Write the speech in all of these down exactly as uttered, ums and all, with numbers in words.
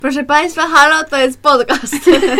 Proszę Państwa, halo, to jest podcast.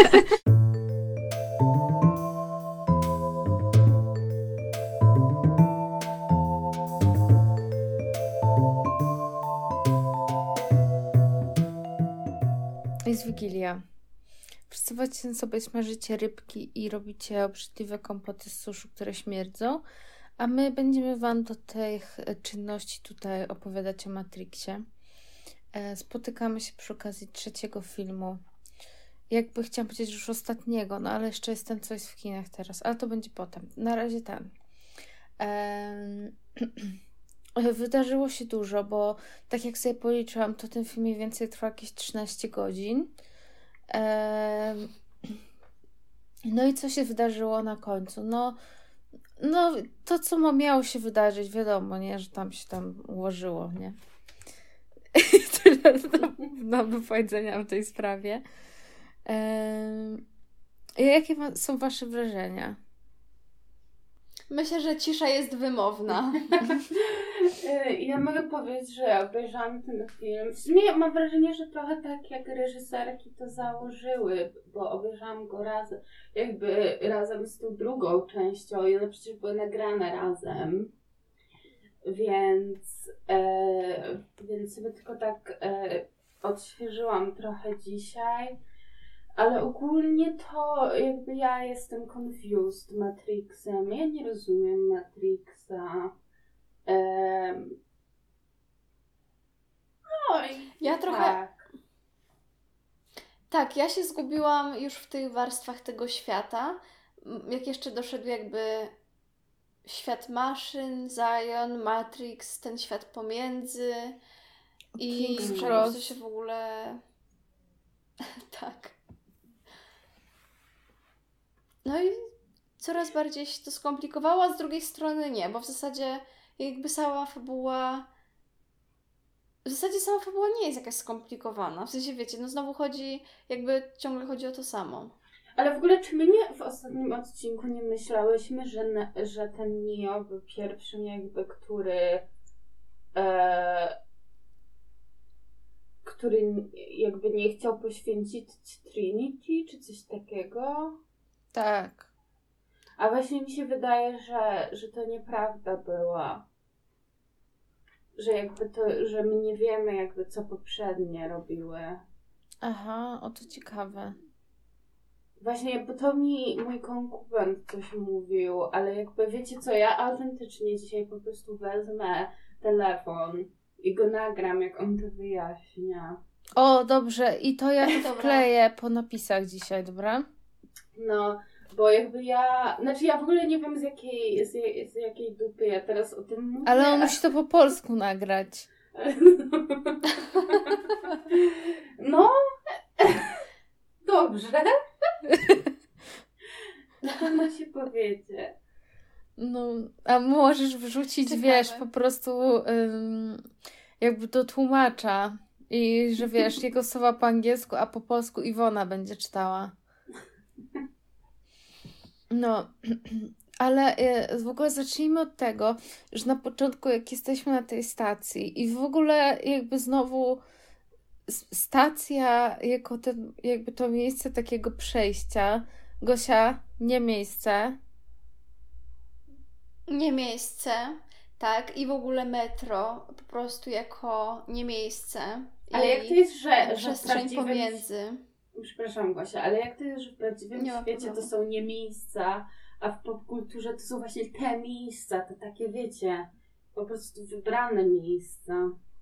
Jest Wigilia. Wszyscy sobie smażycie rybki i robicie obrzydliwe kompoty z suszu, które śmierdzą, a my będziemy Wam do tych czynności tutaj opowiadać o Matrixie. Spotykamy się przy okazji trzeciego filmu. Jakby chciałam powiedzieć już ostatniego, no ale jeszcze jest ten, co jest w kinach teraz, ale to będzie potem. Na razie ten. Ehm... Wydarzyło się dużo, bo tak jak sobie policzyłam, to ten film mniej więcej trwa jakieś trzynaście godzin. Ehm... No i co się wydarzyło na końcu? No, no to, co ma miało się wydarzyć, wiadomo, nie, że tam się tam ułożyło, nie? Tyle mam do powiedzenia w tej sprawie. Ehm... Jakie są Wasze wrażenia? Myślę, że cisza jest wymowna. Ja mogę powiedzieć, że obejrzałam ten film. W sumie mam wrażenie, że trochę tak jak reżyserki to założyły, bo obejrzałam go razem, jakby razem z tą drugą częścią i one przecież były nagrane razem. Więc, e, więc sobie tylko tak e, odświeżyłam trochę dzisiaj. Ale ogólnie to jakby ja jestem confused Matrixem. Ja nie rozumiem Matrixa. Um, no i ja trochę... tak. Tak, ja się zgubiłam już w tych warstwach tego świata. Jak jeszcze doszedł jakby świat maszyn, Zion, Matrix, ten świat pomiędzy i Cross. to się w ogóle... tak. No i coraz bardziej się to skomplikowało, a z drugiej strony nie, bo w zasadzie jakby cała fabuła w zasadzie sama fabuła nie jest jakaś skomplikowana. W sensie wiecie, no znowu chodzi, jakby ciągle chodzi o to samo. Ale w ogóle czy my nie w ostatnim odcinku nie myślałyśmy, że, ne, że ten Neo był pierwszym jakby, który e, który jakby nie chciał poświęcić Trinity, czy coś takiego? Tak. A właśnie mi się wydaje, że, że to nieprawda była. Że jakby to, że my nie wiemy jakby co poprzednie robiły. Aha, o to ciekawe. Właśnie, bo to mi mój konkubent coś mówił, ale jakby wiecie co, ja autentycznie dzisiaj po prostu wezmę telefon i go nagram, jak on to wyjaśnia. O, dobrze. I to ja to wkleję po napisach dzisiaj, dobra? No, bo jakby ja... Znaczy ja w ogóle nie wiem z jakiej, z, z jakiej dupy ja teraz o tym mówię. Ale on musi to po polsku nagrać. No, dobrze. Na pewno się powiedzie. No, a możesz wrzucić, Ciekawe. wiesz, po prostu ym, jakby do tłumacza. I że wiesz, jego słowa po angielsku, a po polsku Iwona będzie czytała. No, ale w ogóle zacznijmy od tego, że na początku jak jesteśmy na tej stacji i w ogóle jakby znowu stacja jako ten, jakby to miejsce takiego przejścia. Gosia, nie miejsce. Nie miejsce, tak, i w ogóle metro po prostu jako nie miejsce. Ale i jak to jest, że, że przestrzeń prawdziwym... pomiędzy. Przepraszam Gosia, ale jak to jest, że w prawdziwym Nie ma świecie problemu. to są nie miejsca, a w popkulturze to są właśnie te miejsca, to takie wiecie, po prostu wybrane miejsca.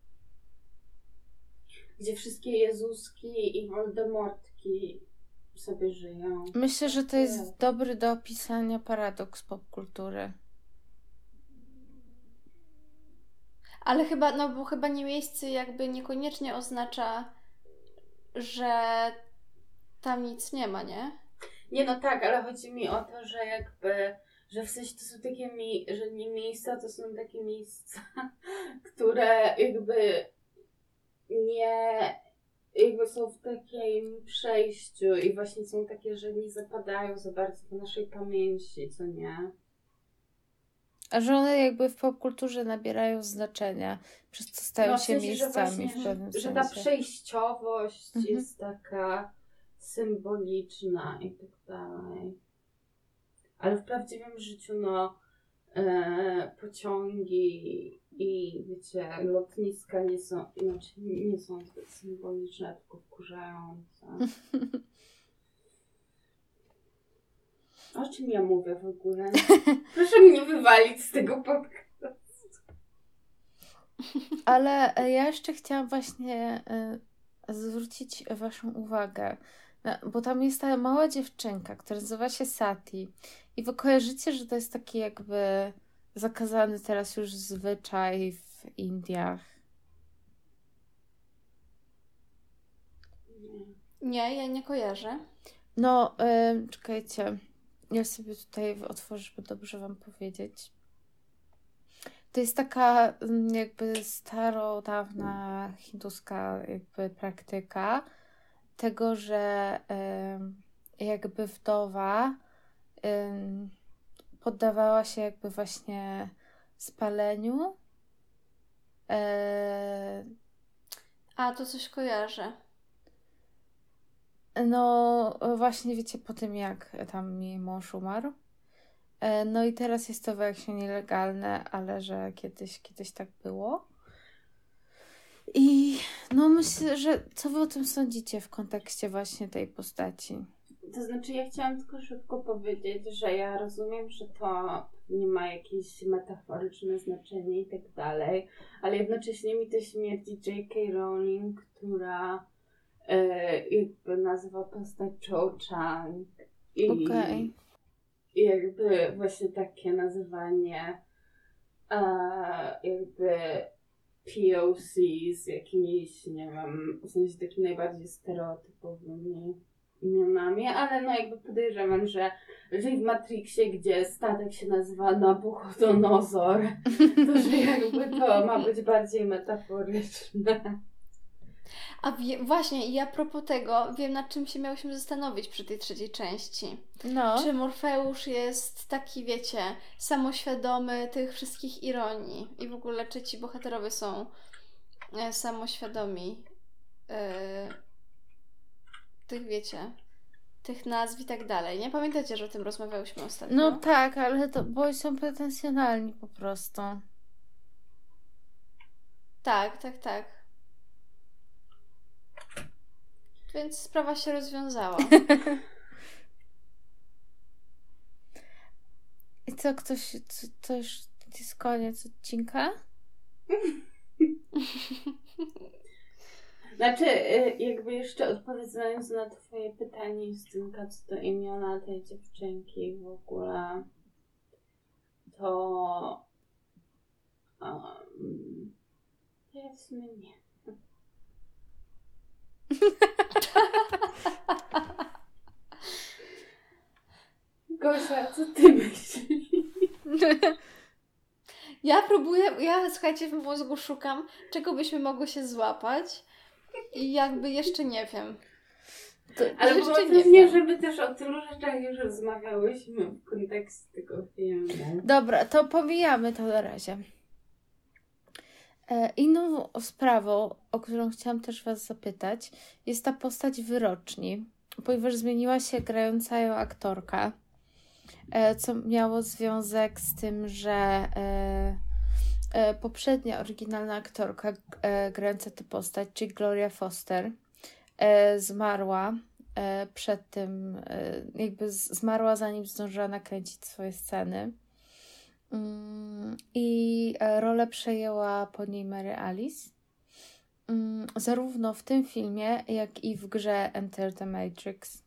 Gdzie wszystkie Jezuski i Voldemortki sobie żyją. Myślę, że to jest dobry do opisania paradoks popkultury. Ale chyba, no bo chyba nie miejsce jakby niekoniecznie oznacza, że tam nic nie ma, nie? Nie no tak, ale chodzi mi o to, że jakby, że w sensie to są takie, mi- że nie miejsca, to są takie miejsca, które jakby nie, jakby są w takim przejściu i właśnie są takie, że nie zapadają za bardzo do naszej pamięci, co nie? A że one jakby w popkulturze nabierają znaczenia, przez co stają No, w się sensie, że miejscami właśnie, w pewnym że, że sensie. ta przejściowość Mhm. jest taka symboliczna i tak dalej. Ale w prawdziwym życiu, no, e, pociągi i, wiecie, lotniska nie są, znaczy nie są zbyt symboliczne, tylko wkurzające. O czym ja mówię w ogóle? Proszę mnie wywalić z tego podcastu. Ale e, ja jeszcze chciałam właśnie e, zwrócić waszą uwagę, na- bo tam jest ta mała dziewczynka, która nazywa się Sati. I wy kojarzycie, że to jest taki jakby zakazany teraz już zwyczaj w Indiach. Nie, ja nie kojarzę. No, em, czekajcie. Ja sobie tutaj otworzę, żeby dobrze wam powiedzieć. To jest taka mm, jakby starodawna hinduska jakby praktyka tego, że em, jakby wdowa em, poddawała się jakby właśnie spaleniu. E, A, to coś kojarzę. no właśnie wiecie po tym jak tam jej mąż umarł. E, no i teraz jest to właśnie nielegalne, ale że kiedyś, kiedyś tak było. I no myślę, że co wy o tym sądzicie w kontekście właśnie tej postaci? To znaczy, ja chciałam tylko szybko powiedzieć, że ja rozumiem, że to nie ma jakieś metaforyczne znaczenie i tak dalej, ale jednocześnie mi to śmierdzi J K. Rowling, która e, jakby nazywa postać Cho Chang i Okej. i jakby właśnie takie nazywanie e, jakby P O C z jakimiś, nie wiem, w sensie takimi najbardziej stereotypowymi imionami, ale no jakby podejrzewam, że, że w Matrixie, gdzie statek się nazywa Nabuchodonozor, to że jakby to ma być bardziej metaforyczne. A wie, właśnie, i a propos tego, wiem nad czym się miałyśmy zastanowić przy tej trzeciej części. No. Czy Morfeusz jest taki, wiecie, samoświadomy tych wszystkich ironii i w ogóle czy ci bohaterowie są e, samoświadomi e, tych, wiecie, tych nazw i tak dalej. Nie pamiętacie, że o tym rozmawiałyśmy ostatnio? No tak, ale to bo są pretensjonalni po prostu. Tak, tak, tak. Więc sprawa się rozwiązała. I co, ktoś, co, to już jest koniec odcinka? Znaczy, y, jakby jeszcze odpowiadając na twoje pytanie, Justynka, co to imiona tej dziewczynki w ogóle, to um, to ja w sumie nie. Gosia, co ty myślisz? Ja próbuję, ja słuchajcie, w mózgu szukam, czego byśmy mogły się złapać i jakby jeszcze nie wiem. To, ale było to nie, wiem. Żeby też o tylu rzeczach już rozmawiałyśmy w kontekście tego filmu. Dobra, to pomijamy to na razie. E, inną sprawą, o którą chciałam też was zapytać, jest ta postać wyroczni, ponieważ zmieniła się grająca ją aktorka, e, co miało związek z tym, że e, e, poprzednia oryginalna aktorka e, grająca tę postać, czyli Gloria Foster, e, zmarła e, przed tym, e, jakby z, zmarła zanim zdążyła nakręcić swoje sceny. Mm, I e, rolę przejęła po niej Mary Alice. Mm, zarówno w tym filmie, jak i w grze Enter the Matrix.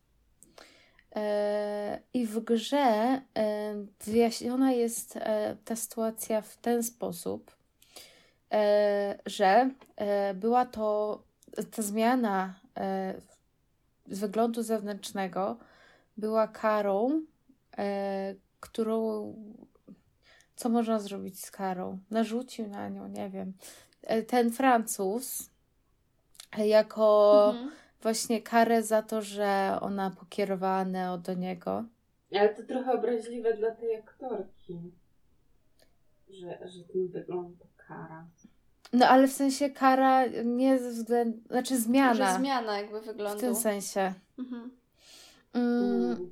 E, I w grze e, wyjaśniona jest e, ta sytuacja w ten sposób, e, że e, była to ta zmiana e, z wyglądu zewnętrznego była karą, e, którą co można zrobić z karą? Narzucił na nią, nie wiem. E, Ten Francuz e, jako Mhm. właśnie karę za to, że ona pokierowała Neo do niego. Ale to trochę obraźliwe dla tej aktorki. że, że ten wygląd to kara. No ale w sensie kara nie ze względu... Znaczy zmiana. Że zmiana jakby wyglądu. W tym sensie. Mhm. Mm,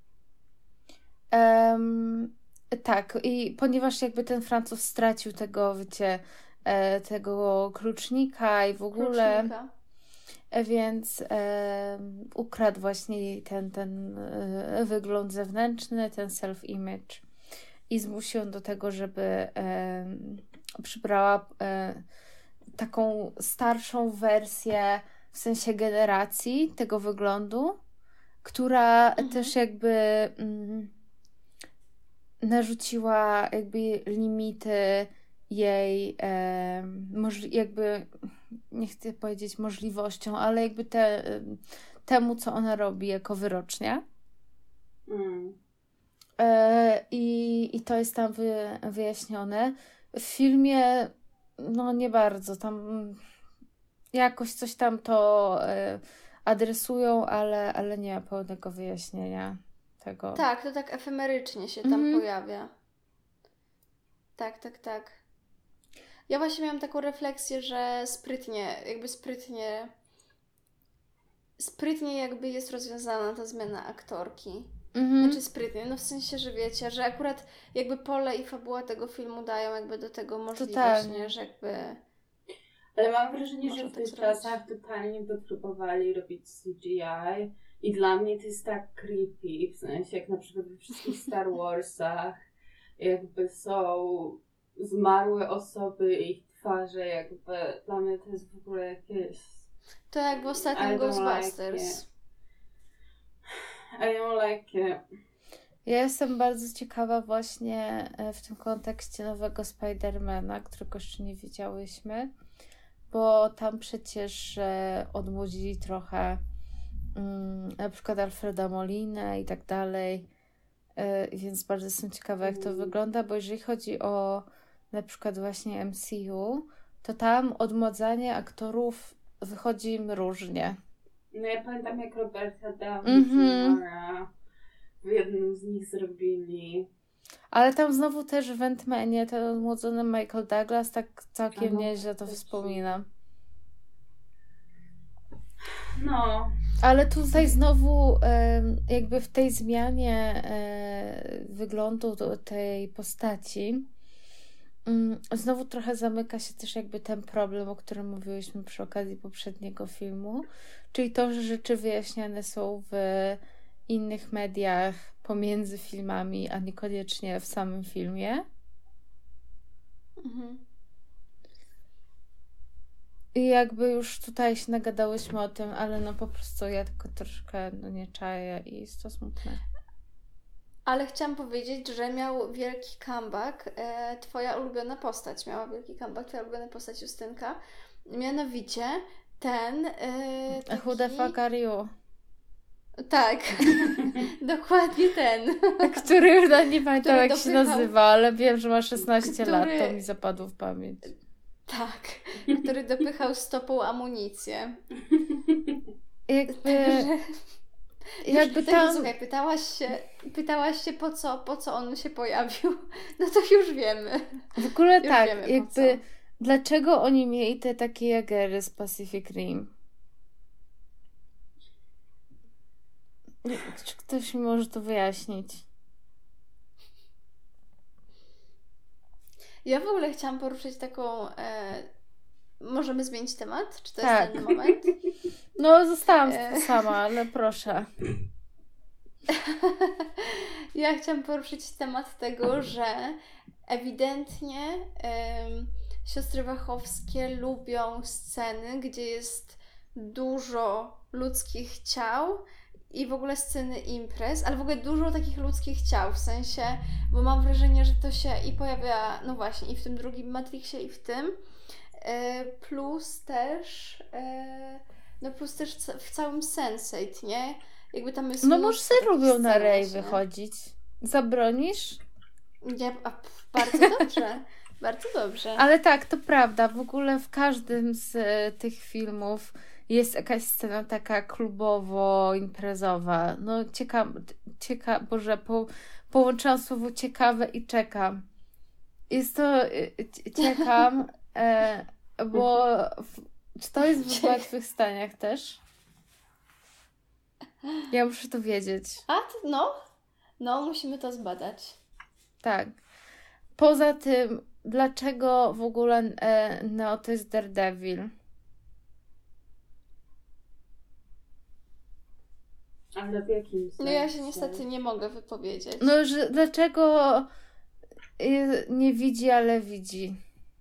em, tak, i ponieważ jakby ten Francuz stracił tego, wiecie, e, tego klucznika i w ogóle, Klucznika. e, więc e, ukradł właśnie ten, ten e, wygląd zewnętrzny, ten self-image i zmusił ją do tego, żeby e, przybrała e, taką starszą wersję, w sensie generacji tego wyglądu, która Mhm. też jakby mm, narzuciła jakby limity jej e, możli- jakby, nie chcę powiedzieć możliwością, ale jakby te, temu, co ona robi jako wyrocznia. Mm. E, i, I to jest tam wy, wyjaśnione. W filmie no nie bardzo. Tam jakoś coś tam to e, adresują, ale, ale nie ma pełnego wyjaśnienia tego. Tak, to tak efemerycznie się tam Mhm. pojawia. Tak, tak, tak. Ja właśnie miałam taką refleksję, że sprytnie, jakby sprytnie, sprytnie jakby jest rozwiązana ta zmiana aktorki. Mhm. Znaczy sprytnie, no w sensie, że wiecie, że akurat jakby pole i fabuła tego filmu dają jakby do tego możliwość, Totalnie. nie, że jakby... Ale mam wrażenie, Można że w tak tych zrobić. czasach totalnie by próbowali robić C G I i dla mnie to jest tak creepy, w sensie jak na przykład we wszystkich Star Warsach jakby są zmarłe osoby i ich twarze, jakby dla mnie to jest w ogóle jakieś... To jak w ostatnim I don't Ghostbusters. like it. I don't like it. Ja jestem bardzo ciekawa właśnie e, w tym kontekście nowego Spidermana, którego jeszcze nie widziałyśmy, bo tam przecież e, odmłodzili trochę mm, na przykład Alfreda Molinę i tak dalej, e, więc bardzo jestem ciekawa, jak to Mm. wygląda, bo jeżeli chodzi o na przykład właśnie M C U, to tam odmładzanie aktorów wychodzi im różnie. No ja pamiętam, jak Roberta Downey Mhm. juniora w jednym z nich zrobili. Ale tam znowu też w Ant-Manie ten odmłodzony Michael Douglas tak całkiem No, nieźle to też. wspominam. No, Ale tutaj znowu em, jakby w tej zmianie e, wyglądu do tej postaci mm, znowu trochę zamyka się też jakby ten problem, o którym mówiłyśmy przy okazji poprzedniego filmu, czyli to, że rzeczy wyjaśniane są w innych mediach pomiędzy filmami, a niekoniecznie w samym filmie. Mhm. I jakby już tutaj się nagadałyśmy o tym, ale no po prostu ja tylko troszkę no nie czaję i jest to smutne. Ale chciałam powiedzieć, że miał wielki comeback e, twoja ulubiona postać. Miała wielki comeback twoja ulubiona postać Justynka. Mianowicie ten e, taki... Who the fuck are you? Tak, dokładnie ten. Który już nawet nie pamiętam, Który jak się dopychał- nazywa, ale wiem, że ma szesnaście lat, Który- to mi zapadło w pamięć. Tak, który dopychał stopą amunicję. Jakby, Także, jakby także tam... słuchaj, pytałaś się, pytałaś się po co, po co on się pojawił. No to już wiemy. W ogóle Już tak, wiemy, po jakby co. dlaczego oni mieli te takie jagery z Pacific Rim? Czy ktoś mi może to wyjaśnić? Ja w ogóle chciałam poruszyć taką... E, możemy zmienić temat? Czy to Tak. jest ten moment? No, zostałam E. sama, ale proszę. Ja chciałam poruszyć temat tego, że ewidentnie em, siostry Wachowskie lubią sceny, gdzie jest dużo ludzkich ciał i w ogóle sceny imprez, ale w ogóle dużo takich ludzkich ciał, w sensie, bo mam wrażenie, że to się i pojawia, no właśnie, i w tym drugim Matrixie, i w tym, e, plus też, e, no plus też ca- w całym sense eight, nie? Jakby tam jest No może mnóstwo sobie takich lubią na scen rej właśnie. wychodzić. Zabronisz? Nie, a, pf, bardzo dobrze, bardzo dobrze. Ale tak, to prawda. W ogóle w każdym z e, tych filmów jest jakaś scena taka klubowo-imprezowa. No ciekawe, cieka, Boże, po, połączyłam słowo ciekawe i czekam. jest to... y, c- Czekam, e, bo w, czy to jest w Zmartwychwstaniach też? Ja muszę to wiedzieć. A, to, no, no, musimy to zbadać. Tak. Poza tym, dlaczego w ogóle e, Neo to jest Daredevil? Ale w jakim sensie? No ja się niestety nie mogę wypowiedzieć. No, że dlaczego y, nie widzi, ale widzi?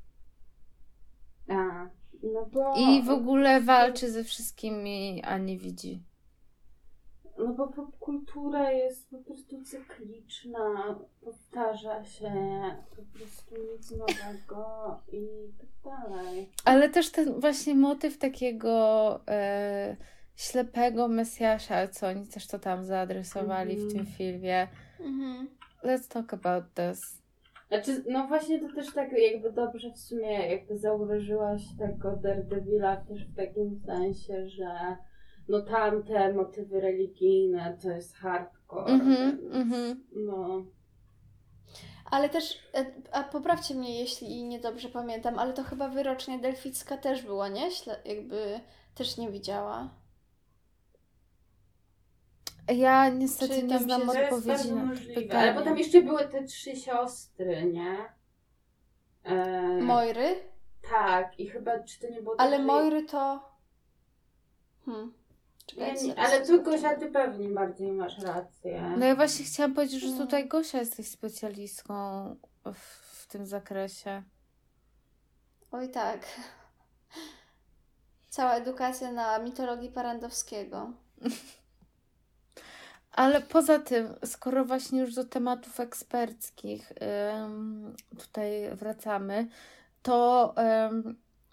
A, no bo... I w ogóle walczy ze wszystkimi, a nie widzi. No bo popkultura jest po prostu cykliczna, powtarza się, po prostu nic nowego i tak dalej. Ale też ten właśnie motyw takiego e, ślepego Mesjasza, co oni też to tam zaadresowali w tym Mhm. filmie. Mhm. Let's talk about this. Znaczy, no właśnie to też tak jakby dobrze w sumie jakby zauważyłaś tego Daredevila też w takim sensie, że no tamte motywy religijne to jest hardcore, Mhm, więc mhm. no... Ale też, e, a poprawcie mnie, jeśli niedobrze pamiętam, ale to chyba wyrocznia delficka też była, nie? Śle- jakby też nie widziała. Ja niestety Czy nie tam znam się- To jest odpowiedzi bardzo na to możliwe, ale pytanie. potem jeszcze były te trzy siostry, nie? E, Moiry? tak, i chyba, czy to nie było Ale tak, że- Moiry to... Hmm. Ja Czekajcie, nie, zaraz ale to tu zobaczymy. Gosia, ty pewnie bardziej masz rację. No ja właśnie chciałam powiedzieć, że No. tutaj Gosia jesteś specjalistką w, w tym zakresie. Oj tak. Cała edukacja na mitologii Parandowskiego. Ale poza tym, skoro właśnie już do tematów eksperckich ym, tutaj wracamy, to ym,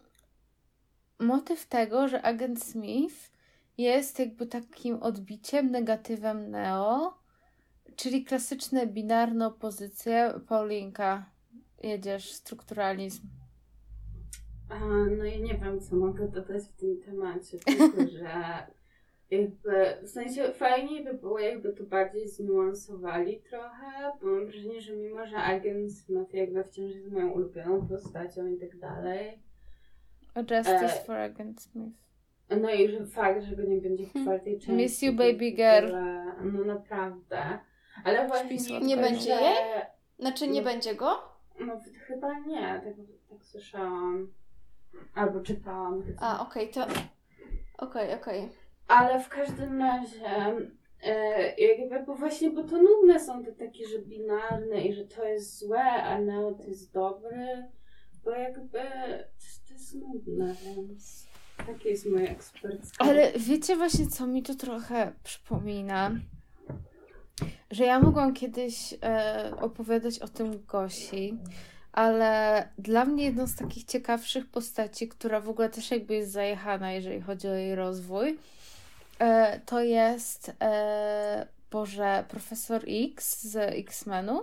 motyw tego, że agent Smith jest jakby takim odbiciem, negatywem Neo, czyli klasyczne binarne opozycje. Paulinka, jedziesz, strukturalizm. A, no ja nie wiem, co mogę dodać w tym temacie, tylko że jakby, w sensie fajniej by było, jakby to bardziej zniuansowali trochę, bo mam wrażenie, że mimo, że agent Smith jakby wciąż jest moją ulubioną postacią i tak dalej, Justice E, for Agent Smith. no i że fakt, że go nie będzie w czwartej części. Miss you, to baby w girl. ogóle, no naprawdę. Ale właśnie słodko. Nie będzie że- jej? Znaczy nie No. będzie go? No chyba nie, tak, tak słyszałam. Albo czytałam. A, okej, to... Okej, okej. Ale w każdym razie, e, jakby, bo właśnie, bo to nudne są te takie, że binarne i że to jest złe, a Neo to jest dobry, bo jakby to, to jest nudne, więc takie jest moje eksperckie. Ale wiecie właśnie, co mi to trochę przypomina? Że ja mogłam kiedyś e, opowiadać o tym Gosi, ale dla mnie jedną z takich ciekawszych postaci, która w ogóle też jakby jest zajechana, jeżeli chodzi o jej rozwój, e, to jest e, Boże, Profesor X z X-Menów,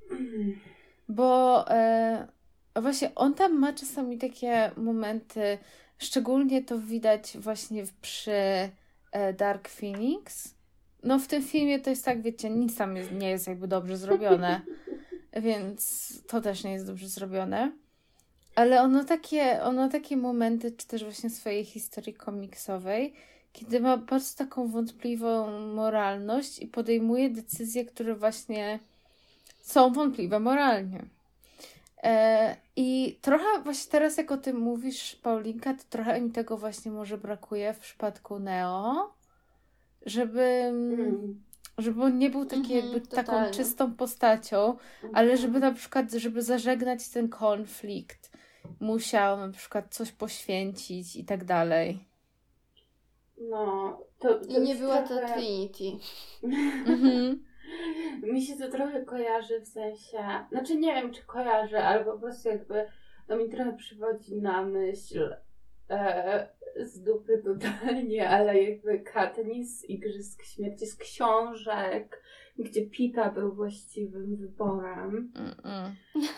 bo e, właśnie on tam ma czasami takie momenty, szczególnie to widać właśnie przy e, Dark Phoenix. No w tym filmie to jest tak, wiecie, nic tam jest, nie jest jakby dobrze zrobione, więc to też nie jest dobrze zrobione. Ale ono takie, ono takie momenty, czy też właśnie swojej historii komiksowej, kiedy ma bardzo taką wątpliwą moralność i podejmuje decyzje, które właśnie są wątpliwe moralnie. E, I trochę właśnie teraz, jak o tym mówisz, Paulinka, to trochę mi tego właśnie może brakuje w przypadku Neo, żeby, Mm. żeby on nie był taki Mhm, jakby taką totalnie. czystą postacią, ale żeby na przykład, żeby zażegnać ten konflikt, musiał na przykład coś poświęcić i tak dalej. No, to, to I nie jest była to trochę... Trinity. Mhm. Mi się to trochę kojarzy w sensie, znaczy nie wiem, czy kojarzy, ale po prostu jakby to mi trochę przywodzi na myśl e, z dupy totalnie, ale jakby Katniss z Igrzysk Śmierci, z książek, gdzie Pita był właściwym wyborem. Mm-mm.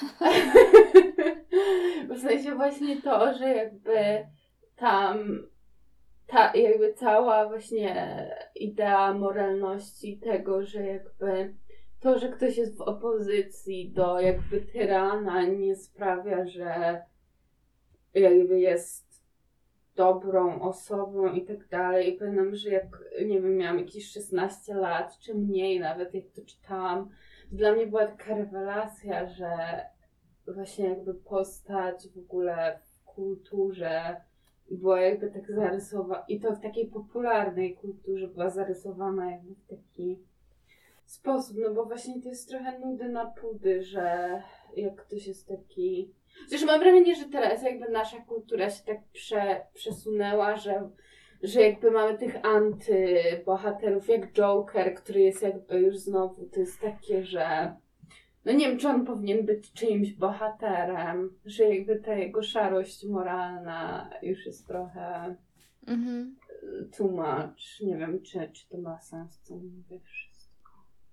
W sensie właśnie to, że jakby tam ta jakby cała właśnie idea moralności tego, że jakby to, że ktoś jest w opozycji do jakby tyrana, nie sprawia, że jakby jest dobrą osobą i tak dalej. I pamiętam, że jak, nie wiem, miałam jakieś szesnaście lat, czy mniej nawet, jak to czytałam, to dla mnie była taka rewelacja, że właśnie jakby postać w ogóle w kulturze była jakby tak zarysowana, i to w takiej popularnej kulturze była zarysowana jakby w taki sposób, no bo właśnie to jest trochę nudy na pudy, że jak ktoś jest taki... Zresztą mam wrażenie, że teraz jakby nasza kultura się tak prze, przesunęła, że, że jakby mamy tych antybohaterów jak Joker, który jest jakby już znowu, to jest takie, że no nie wiem, czy on powinien być czyimś bohaterem, że jakby ta jego szarość moralna już jest trochę Mhm. too much. Nie wiem, czy, czy to ma sens, co mówię wszystko.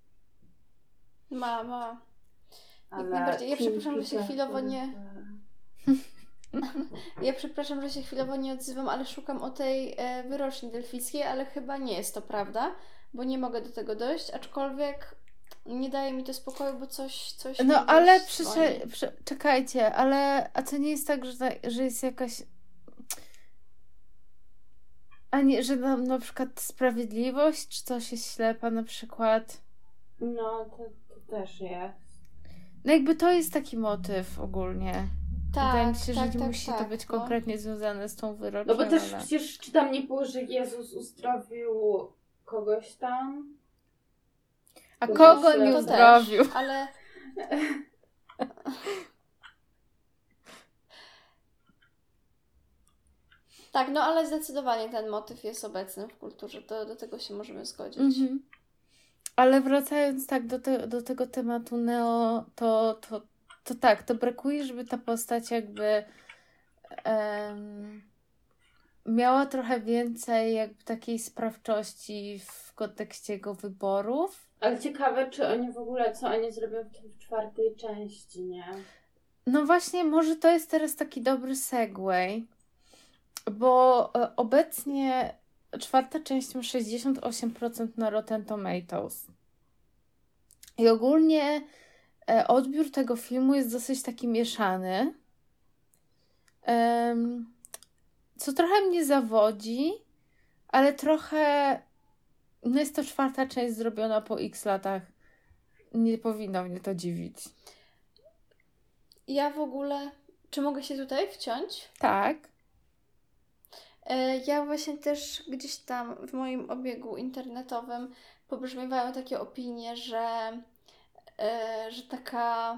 Ma, ma. Jak Ale najbardziej. Ja Kim przepraszam, że się Peterson, chwilowo nie... że- Ja przepraszam, że się chwilowo nie odzywam, ale szukam o tej e, wyroczni delfickiej, ale chyba nie jest to prawda, bo nie mogę do tego dojść, aczkolwiek nie daje mi to spokoju, bo coś, coś mi No gdzieś ale dzwoni. przysze- prze- czekajcie, ale a to nie jest tak, że, że jest jakaś... A nie, że nam na przykład sprawiedliwość, czy coś jest ślepa na przykład? No, to, to też jest. No jakby to jest taki motyw ogólnie. Wydaje mi Tak, się, że tak, nie tak, musi tak, to być no. konkretnie związane z tą wyrocznią. No bo też ale... przecież czy tam nie było, że Jezus uzdrowił kogoś tam? A to kogo też- nie to uzdrowił? Też, ale... Tak, no ale zdecydowanie ten motyw jest obecny w kulturze, to do tego się możemy zgodzić. Mhm. Ale wracając tak do, te, do tego tematu Neo, to, to, to tak, to brakuje, żeby ta postać jakby em, miała trochę więcej jakby takiej sprawczości w kontekście jego wyborów. Ale ciekawe, czy oni w ogóle, co oni zrobią w, tym- w czwartej części, nie? No właśnie, może to jest teraz taki dobry segway, bo e, obecnie czwarta część ma sześćdziesiąt osiem procent na Rotten Tomatoes. I ogólnie e, odbiór tego filmu jest dosyć taki mieszany. Em, co trochę mnie zawodzi, ale trochę no jest to czwarta część zrobiona po x latach. Nie powinno mnie to dziwić. Ja w ogóle... Czy mogę się tutaj wciąć? Tak. E, Ja właśnie też gdzieś tam w moim obiegu internetowym pobrzmiewają takie opinie, że, e, że taka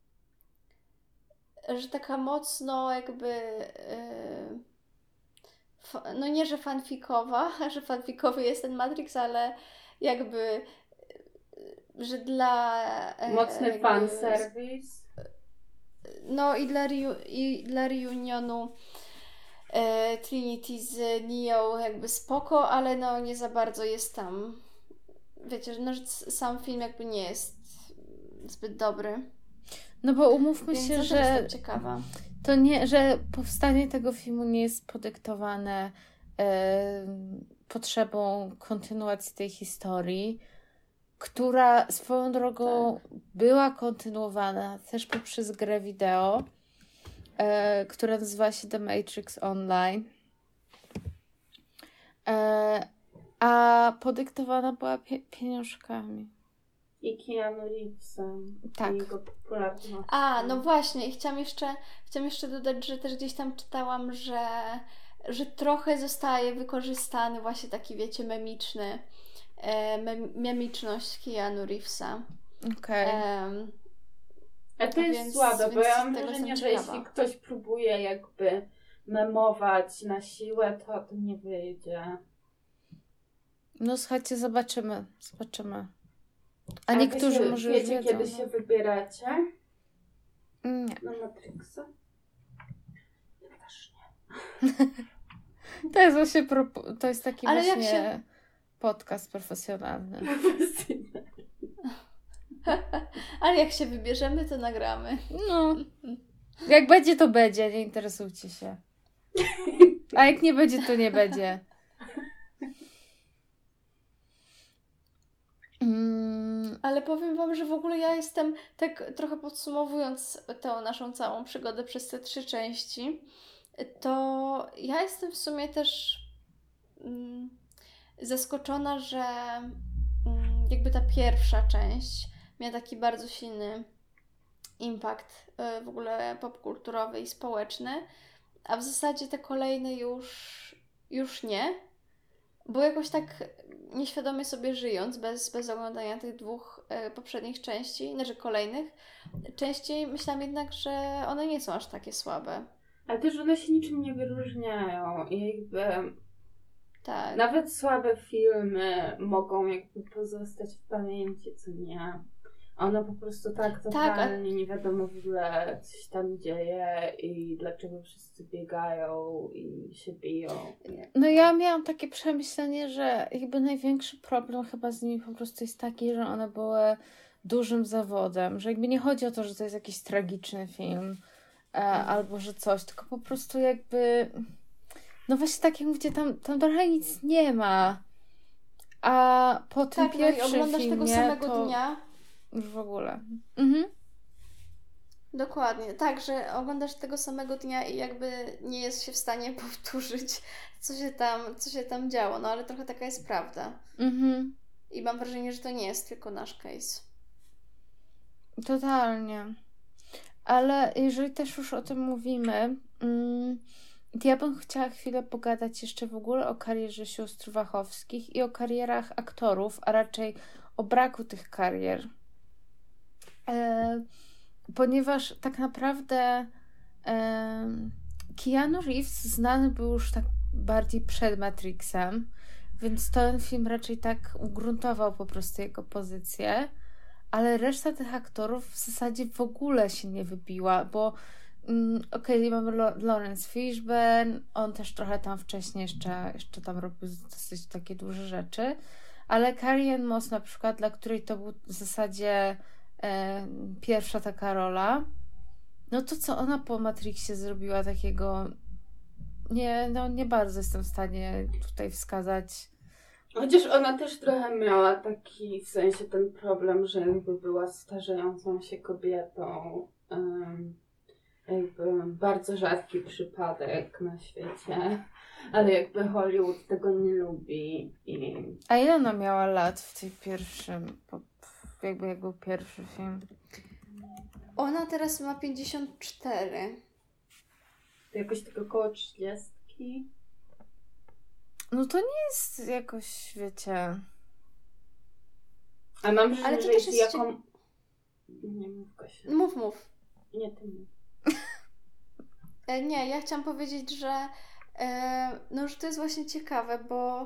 że taka mocno jakby e, fa- no nie, że fanfikowa, że fanfikowy jest ten Matrix, ale jakby e, że dla e, Mocny jakby- fanserwis. No i dla, reu- i dla reunionu e, Trinity z Neo jakby spoko, ale no nie za bardzo jest tam, wiecie, że no, że s- sam film jakby nie jest zbyt dobry. No bo umówmy Więc się, ja też że jestem ciekawa. to nie, że powstanie tego filmu nie jest podyktowane e, potrzebą kontynuacji tej historii, która swoją drogą była kontynuowana też poprzez grę wideo, e, która nazywa się The Matrix Online. E, a podyktowana była pie- pieniążkami. I Keanu Reevesem. Tak. I jego popularnością. A, no właśnie, i chciałam jeszcze, chciałam jeszcze dodać, że też gdzieś tam czytałam, że, że trochę zostaje wykorzystany właśnie taki, wiecie, memiczny, e, mem, memiczność Keanu Reevesa. Okej. Em, A to jest Więc- słabe, bo więc ja mam tego wrażenie, jestem że ciekawa. jeśli ktoś próbuje jakby memować na siłę, to to nie wyjdzie. No słuchajcie, zobaczymy. Zobaczymy. A wy niektórzy się, może już wiecie, wiedzą. kiedy się wybieracie Nie. na Matrixa? Ja też To jest właśnie pro- to jest taki Ale jak właśnie się- podcast profesjonalny. nie. ale jak się wybierzemy, to nagramy. No. Jak będzie, to będzie, nie interesujcie się. A jak nie będzie, to nie będzie. Mm, Ale powiem wam, że w ogóle ja jestem, tak trochę podsumowując tę naszą całą przygodę przez te trzy części, to ja jestem w sumie też mm, zaskoczona, że mm, jakby ta pierwsza część miała taki bardzo silny impact y, w ogóle popkulturowy i społeczny, a w zasadzie te kolejne już, już nie, bo jakoś tak nieświadomie sobie żyjąc, bez, bez oglądania tych dwóch y, poprzednich części, znaczy kolejnych, częściej myślałam jednak, że one nie są aż takie słabe. Ale też one się niczym nie wyróżniają i jakby Tak. nawet słabe filmy mogą jakby pozostać w pamięci, co nie? One po prostu tak totalnie a- nie wiadomo w ogóle, co się tam dzieje i dlaczego wszyscy biegają i się biją. Nie. No ja miałam takie przemyślenie, że jakby największy problem chyba z nimi po prostu jest taki, że one były dużym zawodem, że jakby nie chodzi o to, że to jest jakiś tragiczny film e, albo że coś, tylko po prostu jakby no właśnie tak jak mówicie, tam, tam trochę nic nie ma. A po tym Tak, no i pierwszym oglądasz filmie tego samego to dnia. już w ogóle. Mhm. Dokładnie, tak, że oglądasz tego samego dnia i jakby nie jest się w stanie powtórzyć, co się tam, co się tam działo, no ale trochę taka jest prawda. Mhm. I mam wrażenie, że to nie jest tylko nasz case. Totalnie. Ale jeżeli też już o tym mówimy, mm, to ja bym chciała chwilę pogadać jeszcze w ogóle o karierze sióstr Wachowskich i o karierach aktorów, a raczej o braku tych karier. E, ponieważ tak naprawdę e, Keanu Reeves znany był już tak bardziej przed Matrixem, więc ten film raczej tak ugruntował po prostu jego pozycję, ale reszta tych aktorów w zasadzie w ogóle się nie wybiła, bo mm, okej, okay, mamy Lo- Lawrence Fishburne, on też trochę tam wcześniej jeszcze, jeszcze tam robił dosyć takie duże rzeczy, ale Carrie-Anne Moss na przykład, dla której to był w zasadzie e, pierwsza taka rola, no to co ona po Matrixie zrobiła takiego, nie, no nie bardzo jestem w stanie tutaj wskazać. Chociaż ona też trochę miała taki, w sensie ten problem, że jakby była starzejącą się kobietą. Um, jakby bardzo rzadki przypadek na świecie, ale jakby Hollywood tego nie lubi. I... A ile ona miała lat w tej pierwszym, jakby jak był pierwszy film? Ona teraz ma pięćdziesiąt cztery. Jakoś tak około trzydziestki. No to nie jest jakoś, wiecie... A mam wrażenie, Ale to że też jest jest jaką... Nie mów, Kasia. Mów, mów. Nie, ty mów. E, nie, ja chciałam powiedzieć, że e, no, że to jest właśnie ciekawe, bo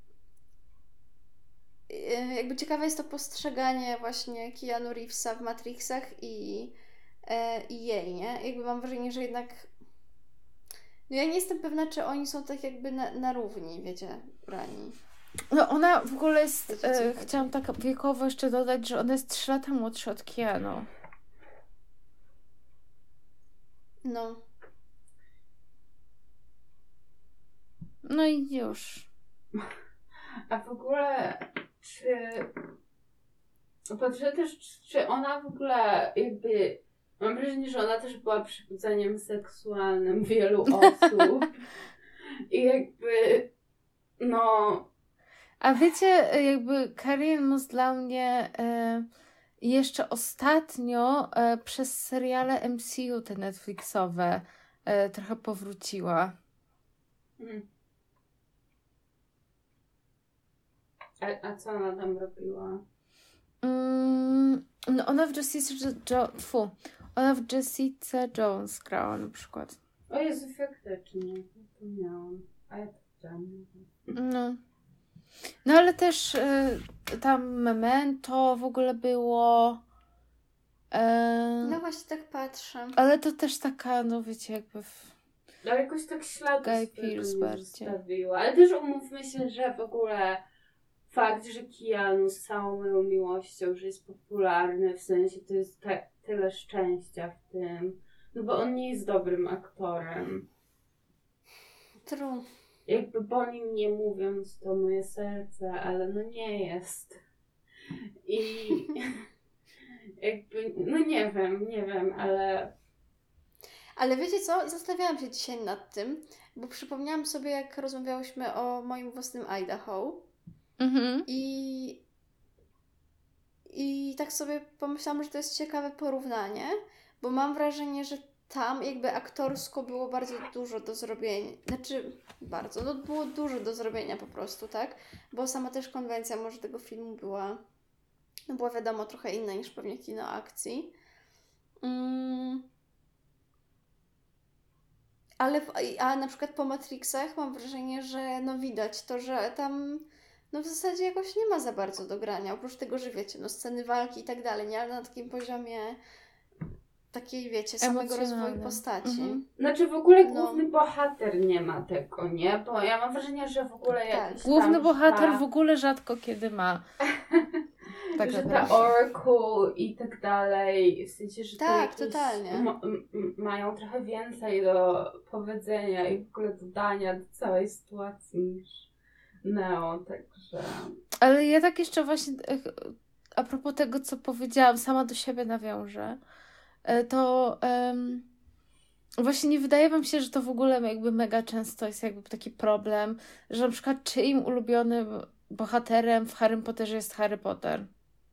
e, jakby ciekawe jest to postrzeganie właśnie Keanu Reevesa w Matrixach i, e, i jej, nie? Jakby mam wrażenie, że jednak no ja nie jestem pewna, czy oni są tak jakby na, na równi, wiecie, brani. No ona w ogóle jest, Wiecie, co e, chodzi. chciałam tak wiekowo jeszcze dodać, że ona jest trzy lata młodsza od Keanu. No. No i już. A w ogóle, czy... Patrzę też, czy ona w ogóle jakby... Mam wrażenie, że ona też była przybudzeniem seksualnym wielu osób. I jakby... No... A wiecie, jakby Carrie-Anne Moss dla mnie e, jeszcze ostatnio e, przez seriale M C U te Netflixowe e, trochę powróciła. Mm. A, a co ona tam robiła? Mm, no ona w Jessica jo- Fu, ona w Jessica Jones grała na przykład. O Jezu, faktycznie. Zapomniałam. A ja to widziałam. No. No ale też y, tam Memento w ogóle było. E, No właśnie tak patrzę. ale to też taka, no wiecie, jakby. W... Ale jakoś tak śladu Guy swojego Pearce nie bardziej. zostawiła. Ale też umówmy się, że w ogóle fakt, że Keanu z całą moją miłością, że jest popularny, w sensie to jest te, tyle szczęścia w tym. No bo on nie jest dobrym aktorem. True. Jakby po nim nie mówiąc, to moje serce, ale no nie jest. I jakby, no nie wiem, nie wiem, ale... Ale wiecie co? Zastanawiałam się dzisiaj nad tym, bo przypomniałam sobie, jak rozmawiałyśmy o moim własnym Idaho Mhm. i I tak sobie pomyślałam, że to jest ciekawe porównanie, bo mam wrażenie, że tam jakby aktorsko było bardzo dużo do zrobienia. Znaczy, bardzo, no było dużo do zrobienia po prostu, tak? Bo sama też konwencja może tego filmu była, no była wiadomo trochę inna niż pewnie kino akcji. Mm. Ale w, a na przykład po Matrixach mam wrażenie, że no widać to, że tam no w zasadzie jakoś nie ma za bardzo do grania, oprócz tego, że wiecie, no sceny walki i tak dalej, nie? Ale na takim poziomie takiej, wiecie, samego rozwoju Emocjonalnym. postaci. Mhm. Znaczy w ogóle No. główny bohater nie ma tego, nie? Bo ja mam wrażenie, że w ogóle Tak. jakiś Główny tam, bohater ta, w ogóle rzadko kiedy ma. Tak że ta naprawdę. Oracle i tak dalej, w sensie, że to Tak, jakieś totalnie. m- m- mają trochę więcej do powiedzenia i w ogóle dodania do całej sytuacji niż Neo, także... Ale ja tak jeszcze właśnie e, a propos tego, co powiedziałam, sama do siebie nawiążę, e, to em, właśnie nie wydaje wam się, że to w ogóle jakby mega często jest jakby taki problem, że na przykład czyim ulubionym bohaterem w Harrym Potterze jest Harry Potter.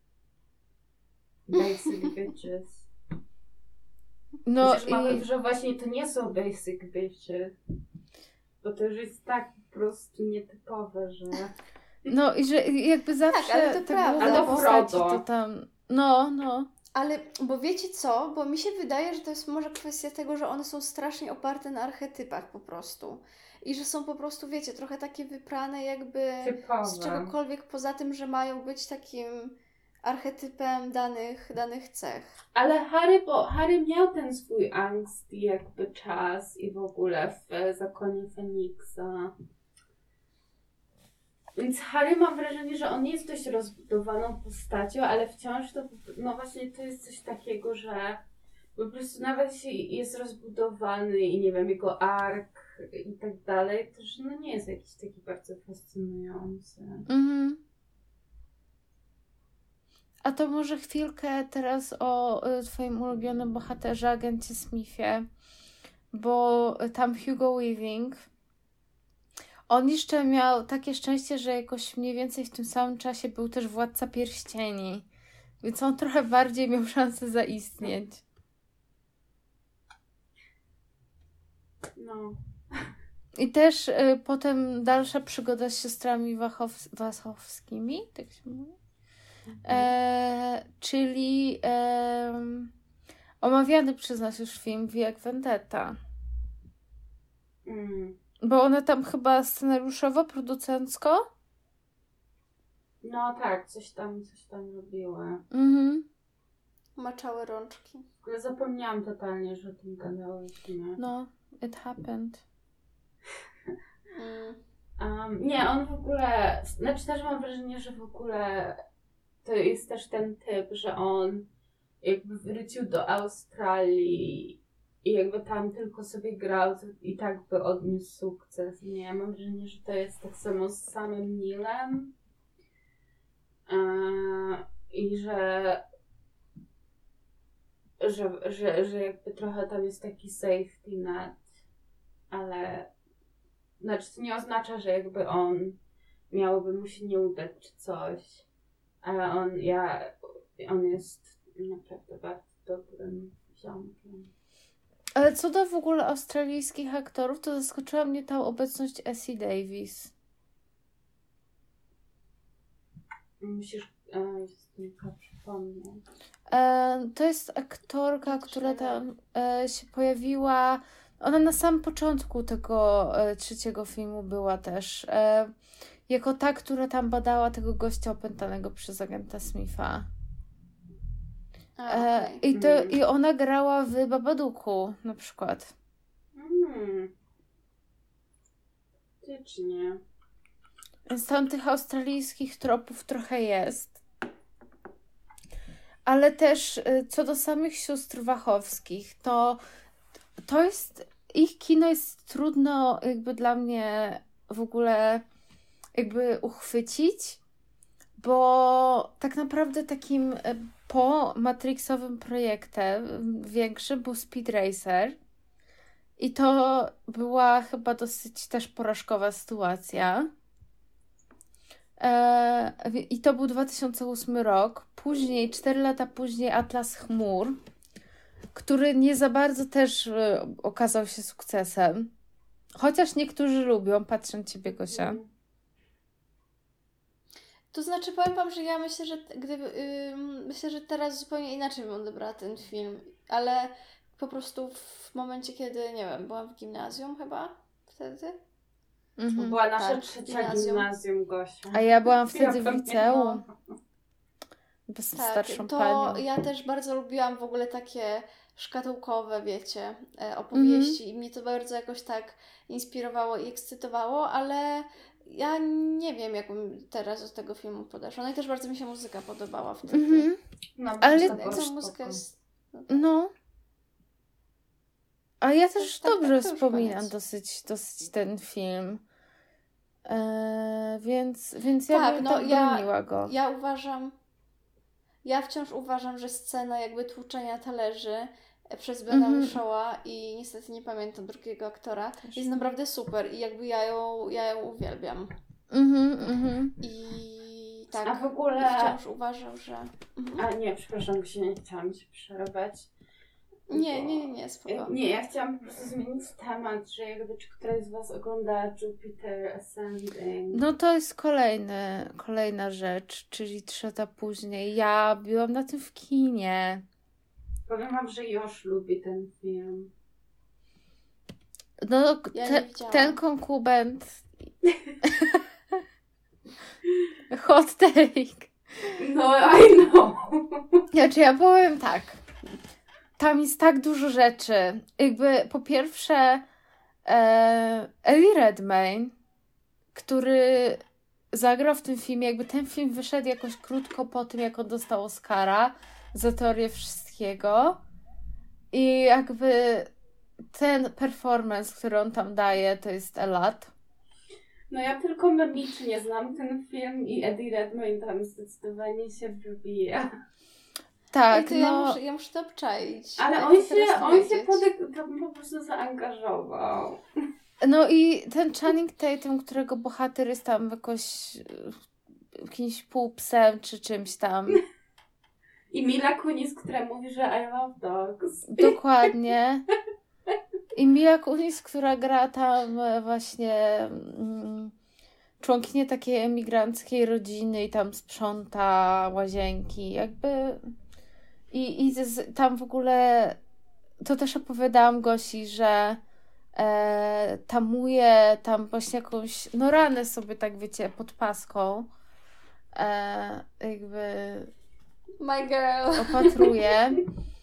Basic bitches. No Chociaż mamy, i że właśnie to nie są basic bitches, bo to już jest tak po prostu nietypowe, że... no i że jakby zawsze ale to te prawda. główne Ale to postaci Frodo. to tam, no, no. Ale, bo wiecie co? Bo mi się wydaje, że to jest może kwestia tego, że one są strasznie oparte na archetypach po prostu. I że są po prostu, wiecie, trochę takie wyprane jakby Typowe. z czegokolwiek poza tym, że mają być takim archetypem danych, danych cech. Ale Harry, bo Harry miał ten swój angst i jakby czas i w ogóle w Zakonie Feniksa. Więc Harry mam wrażenie, że on jest dość rozbudowaną postacią, ale wciąż to, no właśnie to jest coś takiego, że po prostu nawet jeśli jest rozbudowany i nie wiem, jego ark i tak dalej, to że no nie jest jakiś taki bardzo fascynujący. Mhm. A to może chwilkę teraz o y, twoim ulubionym bohaterze, agencie Smithie, bo tam Hugo Weaving, on jeszcze miał takie szczęście, że jakoś mniej więcej w tym samym czasie był też Władca Pierścieni, więc on trochę bardziej miał szansę zaistnieć. No. I też y, potem dalsza przygoda z siostrami Wachow- Wachowskimi, tak się mówi? E, czyli e, omawiany przez nas już film V jak Vendetta. Mm. Bo one tam chyba scenariuszowo, producencko? No tak, coś tam, coś tam robiły. Mhm. Maczały rączki. W ogóle zapomniałam totalnie, że o tym gadałyśmy. No, it happened. Mm. Um, nie, on w ogóle, znaczy też mam wrażenie, że w ogóle to jest też ten typ, że on jakby wrócił do Australii i jakby tam tylko sobie grał i tak by odniósł sukces. Nie, ja mam wrażenie, że to jest tak samo z samym Nilem eee, i że, że, że, że jakby trochę tam jest taki safety net, ale znaczy to nie oznacza, że jakby on miałoby mu się nie udać czy coś, ale on, ja, on jest naprawdę bardzo dobrym ziomkiem. Ale co do w ogóle australijskich aktorów, to zaskoczyła mnie ta obecność Essie Davis. Musisz e, tylko przypomnieć. E, to jest aktorka, która tam e, się pojawiła. Ona na samym początku tego e, trzeciego filmu była też. E, jako ta, która tam badała tego gościa opętanego przez agenta Smitha. A, E, okej. i, to, Mhm. I ona grała w Babadooku na przykład. Mm. Faktycznie. Więc tam tych australijskich tropów trochę jest. Ale też y, co do samych sióstr Wachowskich, to to jest, ich kino jest trudno jakby dla mnie w ogóle jakby uchwycić, bo tak naprawdę takim e, po Matrixowym projektem m, większym był Speed Racer i to była chyba dosyć też porażkowa sytuacja. E, wi- I to był dwa tysiące ósmy rok. Później, cztery lata później Atlas Chmur, który nie za bardzo też e, okazał się sukcesem. Chociaż niektórzy lubią, patrzę na ciebie, Gosia. To znaczy, powiem wam, że ja myślę, że t- gdyby, ym, myślę, że teraz zupełnie inaczej bym odebrała ten film, ale po prostu w momencie, kiedy, nie wiem, byłam w gimnazjum chyba wtedy. Mhm. Była nasza Tak, trzecia gimnazjum. gimnazjum, Gosia. A ja byłam Ja wtedy w pamiętam. liceum. Bez Tak, starszą to panią. ja też bardzo lubiłam w ogóle takie szkatułkowe, wiecie, e, opowieści i mnie to bardzo jakoś tak inspirowało i ekscytowało, ale ja nie wiem, jak bym teraz do tego filmu podeszła. No i też bardzo mi się muzyka podobała wtedy. Mhm. No, Ale- to było Co spoko. muzyka jest... No. A ja też tak, dobrze tak, to już wspominam koniec. dosyć, dosyć ten film. Eee, więc, więc ja Tak, bym no tak ja- broniła go. Ja uważam, ja wciąż uważam, że scena jakby tłuczenia talerzy przez Bena Mhm. Whishawa i niestety nie pamiętam drugiego aktora, Też. jest naprawdę super i jakby ja ją, ja ją uwielbiam. Mhm, mhm. I tak, A w ogóle... i wciąż uważam, że... Mhm. A nie, przepraszam, się nie chciałam Ci przerwać. Nie, bo- nie, nie, nie, spoko. Nie, ja chciałam po prostu zmienić temat, że jakby czy któraś z Was ogląda Jupiter Ascending. No to jest kolejny, kolejna rzecz, czyli trzy lata później. Ja byłam na tym w kinie. Powiem Wam, że Josz lubi ten film. No, Ja te, nie widziałam. ten konkubent. Hot take. No, I know. Znaczy, ja powiem tak. Tam jest tak dużo rzeczy. Jakby po pierwsze e, Eddie Redmayne, który zagrał w tym filmie, jakby ten film wyszedł jakoś krótko po tym, jak on dostał Oscara za teorię wszystkiego. I jakby ten performance, który on tam daje, to jest elat. No ja tylko memicznie znam ten film i Eddie Redmayne tam zdecydowanie się wybija. Tak, I to no... ja, muszę, ja muszę to obczaić. Ale Ja on chcę teraz się, on się powiedzieć. podek- tam po prostu zaangażował. No i ten Channing Tatum, którego bohater jest tam jakoś e, jakimś półpsem czy czymś tam. I Mila Kunis, która mówi, że I love dogs. Dokładnie. I Mila Kunis, która gra tam e, właśnie mm, członkinię takiej emigranckiej rodziny i tam sprząta łazienki. Jakby... I, i z, tam w ogóle... To też opowiadałam Gosi, że e, tamuje tam właśnie jakąś, no ranę sobie tak wiecie, pod paską. E, jakby My girl. opatruje.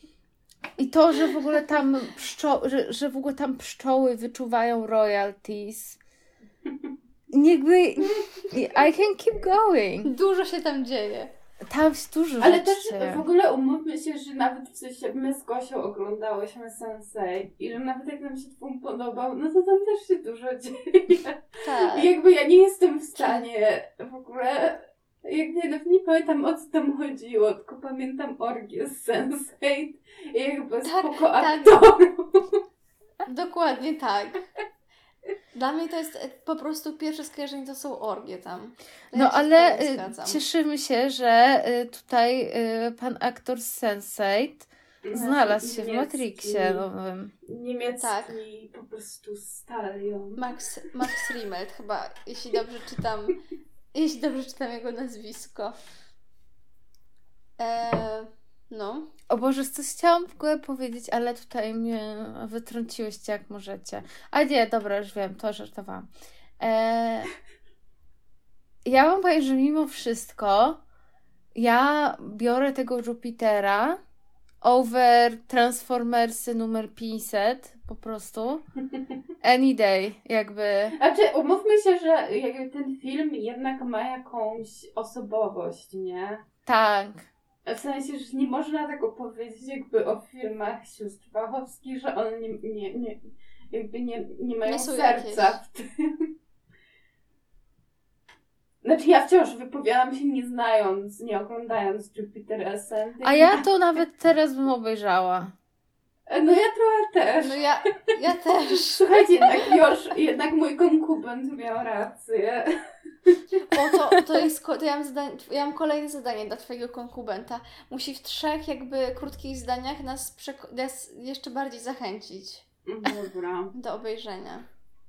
I to, że w ogóle tam pszczo- że, że w ogóle tam pszczoły wyczuwają royalties. Jakby I can keep going. Dużo się tam dzieje. Tam jest dużo Ale rzeczy też się- w ogóle umówmy się, że nawet w sensie my z Gosią oglądałyśmy sense eight i że nawet jak nam się film podobał, no to tam też się dużo dzieje. Tak. I jakby ja nie jestem w stanie w ogóle, jakby nawet nie pamiętam o co tam chodziło, tylko pamiętam orgię z sense eight i jakby Tak, spoko tak. aktorów. Dokładnie tak. Dla mnie to jest e, po prostu pierwsze skojarzenie, to są orgie tam. Ja No się ale z tobą y, zgadzam. cieszymy się, że y, tutaj y, pan aktor z sense eight znalazł się w Niemiecki- Matrixie nowym. Niemiecki Tak. po prostu stalion. Max, Max Riemelt chyba, jeśli dobrze czytam, jeśli dobrze czytam jego nazwisko. E, no. O Boże, coś chciałam w ogóle powiedzieć, ale tutaj mnie wytrąciłyście jak możecie. A nie, dobra, już wiem, to żartowałam. E, ja wam powiem, że mimo wszystko ja biorę tego Jupitera over Transformersy numer pięćset po prostu. Any day, jakby. Znaczy, umówmy się, że jakby ten film jednak ma jakąś osobowość, nie? Tak. W sensie, że nie można tego powiedzieć jakby o filmach sióstr Wachowskich, że one nie, nie, nie, jakby nie, nie mają Nie są serca jakieś. w tym. Znaczy ja wciąż wypowiadam się nie znając, nie oglądając Jupiter Ascending. A ja to nawet teraz bym obejrzała. No ja trochę też. No ja, ja też. Słuchajcie, jednak już, jednak mój konkubent miał rację. O, to, to jest, ko- to ja mam, zadanie, ja mam kolejne zadanie dla Twojego konkubenta. Musi w trzech jakby krótkich zdaniach nas, przeko- nas jeszcze bardziej zachęcić Dobra. do obejrzenia.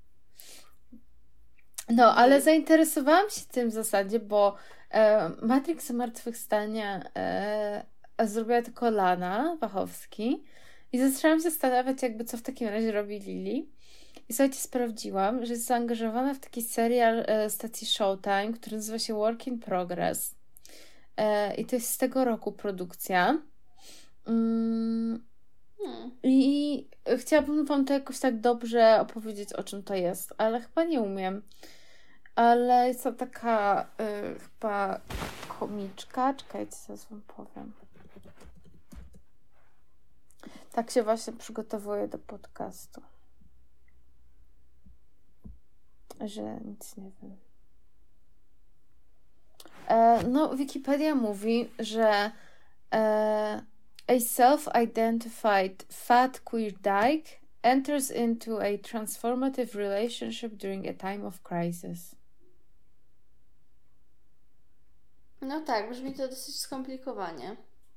No, ale zainteresowałam się tym w zasadzie, bo e, Matrix Zmartwychwstania e, zrobiła tylko Lana Wachowski i zaczęłam się zastanawiać, jakby co w takim razie robi Lili. I słuchajcie, sprawdziłam, że jest zaangażowana w taki serial e, stacji Showtime, który nazywa się Work in Progress. E, I to jest z tego roku produkcja. Mm, Hmm. I chciałabym Wam to jakoś tak dobrze opowiedzieć, o czym to jest, ale chyba nie umiem. Ale jest to taka y, chyba komiczka. Czekajcie, zaraz Wam powiem. Tak się właśnie przygotowuję do podcastu. Że nic nie wiem. E, no, Wikipedia mówi, że e, a self-identified fat queer dyke enters into a transformative relationship during a time of crisis. No tak, brzmi to dosyć skomplikowanie.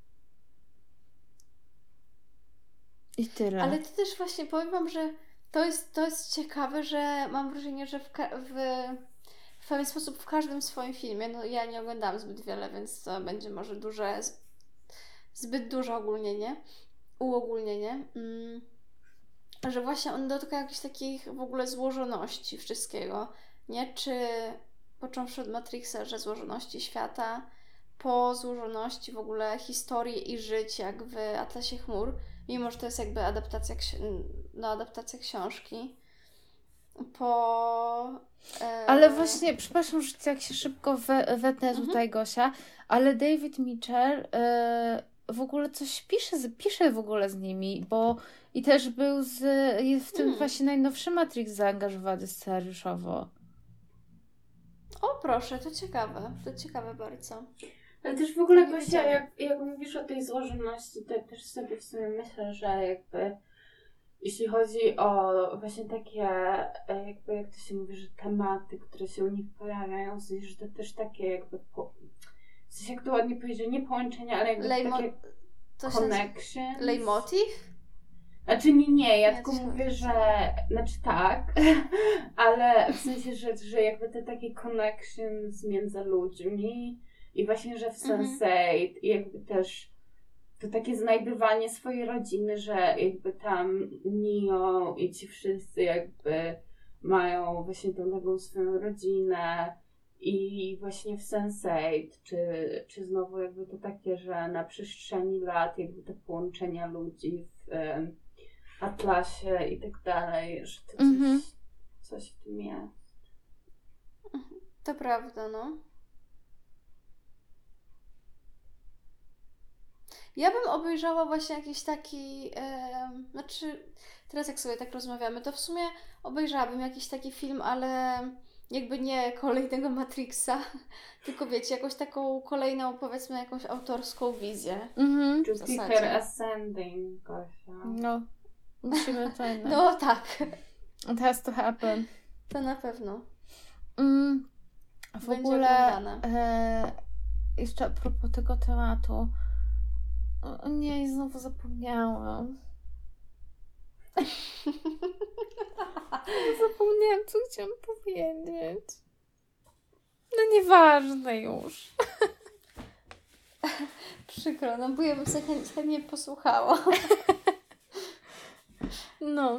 I tyle. Ale to też właśnie powiem Wam, że to jest, to jest ciekawe, że mam wrażenie, że w, ka- w, w pewien sposób w każdym swoim filmie, no ja nie oglądałam zbyt wiele, więc to będzie może duże, zbyt duże ogólnienie, uogólnienie, mm, że właśnie on dotyka jakichś takich w ogóle złożoności wszystkiego, nie? Czy począwszy od Matrixa, że złożoności świata, po złożoności w ogóle historii i żyć, jak w Atlasie Chmur, mimo że to jest jakby adaptacja, ksi- no, adaptacja książki, po... E... Ale właśnie, przepraszam, że tak się szybko we, wetnę Mhm. tutaj, Gosia, ale David Mitchell e, w ogóle coś pisze, z- pisze w ogóle z nimi, bo i też był z, jest w tym Hmm. właśnie najnowszy Matrix zaangażowany scenariuszowo. O proszę, to ciekawe, to ciekawe bardzo. Ale też w ogóle, Nie Gosia, wiedziałam. jak, jak mówisz o tej złożoności, to też sobie w sumie myślę, że jakby jeśli chodzi o właśnie takie, e, jakby jak to się mówi, że tematy, które się u nich pojawiają, w sensie, że to też takie jakby, po, w sensie jak to ładnie powiedzieć, nie połączenia, ale jakby Lejmo- takie To się nazywa connections. Leitmotiv? Znaczy nie, nie, ja Nie, tylko to się mówię, nazywa. że, znaczy tak, ale w sensie, że, że jakby te takie connections między ludźmi i właśnie, że w sense eight i jakby też to takie znajdywanie swojej rodziny, że jakby tam Neo i ci wszyscy jakby mają właśnie tą nową swoją rodzinę i właśnie w sense eight, czy, czy znowu jakby to takie, że na przestrzeni lat jakby te połączenia ludzi w em, Atlasie i tak dalej, że to coś, Mhm. coś w tym jest. To prawda, no. Ja bym obejrzała właśnie jakiś taki, em, znaczy teraz jak sobie tak rozmawiamy, to w sumie obejrzałabym jakiś taki film, ale jakby nie kolejnego Matrixa, tylko wiecie, jakąś taką kolejną, powiedzmy, jakąś autorską wizję. Mhm. Jupiter zasadzie. Ascending, Gosia. No, musimy to jednak. No tak, It has to happen. to na pewno. Mm, w Będzie ogóle oglądane. e, jeszcze a propos tego tematu. O nie, znowu zapomniałam. Zapomniałam, co chciałam powiedzieć. No nieważne już. Przykro, no bo ja bym sobie chęt- chętnie posłuchała. No.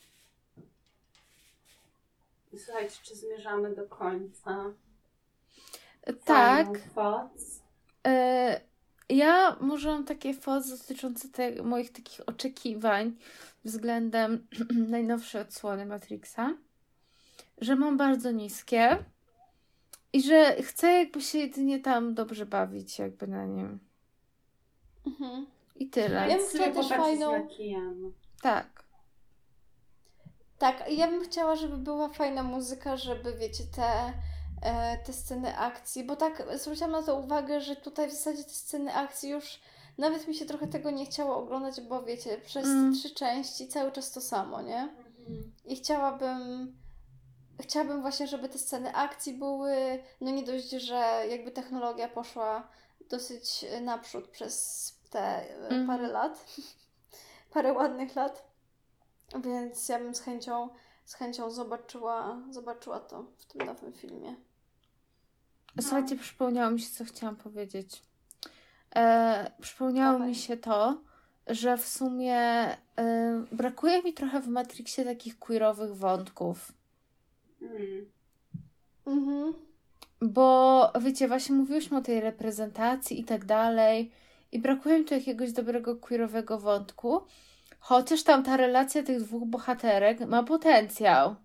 Słuchajcie, czy zmierzamy do końca? Tak. Final thoughts? E, ja może mam takie fozy dotyczące te, moich takich oczekiwań względem najnowszej odsłony Matrixa, że mam bardzo niskie i że chcę jakby się jedynie tam dobrze bawić jakby na nim. Mhm. I tyle. Ja bym Sobie chciała też popatrzeć fajną- na Keanu. Tak. Tak, ja bym chciała, żeby była fajna muzyka, żeby wiecie, te e, te sceny akcji, bo tak zwróciłam na to uwagę, że tutaj w zasadzie te sceny akcji już nawet mi się trochę tego nie chciało oglądać, bo wiecie, przez Mm. te trzy części cały czas to samo, nie? Mhm. I chciałabym chciałabym właśnie, żeby te sceny akcji były, no nie dość, że jakby technologia poszła dosyć naprzód przez te e, Mhm. parę lat, parę ładnych lat, więc ja bym z chęcią, z chęcią zobaczyła, zobaczyła to w tym nowym filmie. Słuchajcie, przypomniało mi się, co chciałam powiedzieć. E, przypomniało Dawaj. mi się to, że w sumie e, brakuje mi trochę w Matrixie takich queerowych wątków. Mm. Mhm. Bo wiecie, właśnie mówiłyśmy o tej reprezentacji i tak dalej i brakuje mi tu jakiegoś dobrego queerowego wątku, chociaż tam ta relacja tych dwóch bohaterek ma potencjał.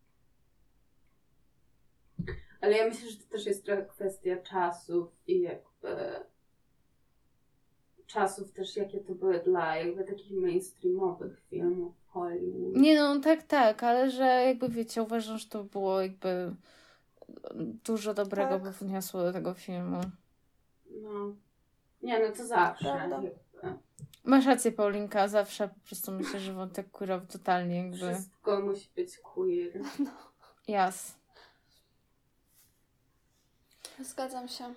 Ale ja myślę, że to też jest trochę kwestia czasów i jakby czasów też, jakie to były dla jakby takich mainstreamowych filmów w Hollywood. Nie no, tak, tak, ale że jakby wiecie, uważam, że to było jakby dużo dobrego Tak. by wniosło do tego filmu. No. Nie, no to zawsze. Prawda. Jakby. Masz rację, Paulinka, zawsze po prostu myślę, że wątek queerowy totalnie jakby Wszystko musi być queer. jas. Zgadzam się.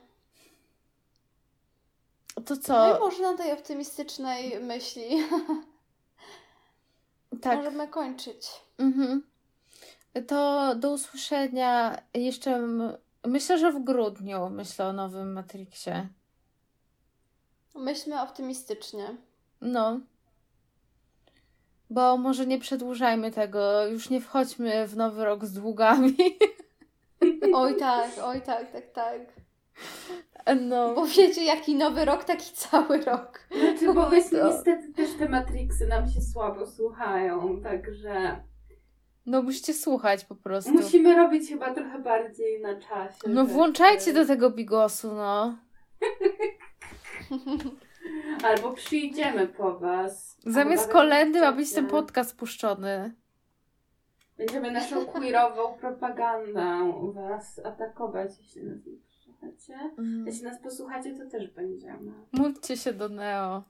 To No co? i może na tej optymistycznej myśli Tak. możemy kończyć. Mhm. To do usłyszenia jeszcze, m- myślę, że w grudniu myślę o nowym Matrixie. Myślmy optymistycznie. No. Bo może nie przedłużajmy tego, już nie wchodźmy w nowy rok z długami. Oj tak, oj tak, tak, tak. No. Bo wiecie, jaki nowy rok, taki cały rok. Znaczy, bo właśnie To- niestety też te Matrixy nam się słabo słuchają, także No musicie słuchać po prostu. musimy robić chyba trochę bardziej na czasie. No rzeczy. włączajcie do tego bigosu, no. Albo przyjdziemy po was. Zamiast Albo kolendy ma będziecie- być ten podcast puszczony. Będziemy naszą queerową propagandą was atakować, jeśli nas nie posłuchacie. Mm. Jeśli nas posłuchacie, to też będziemy. Módlcie się do Neo.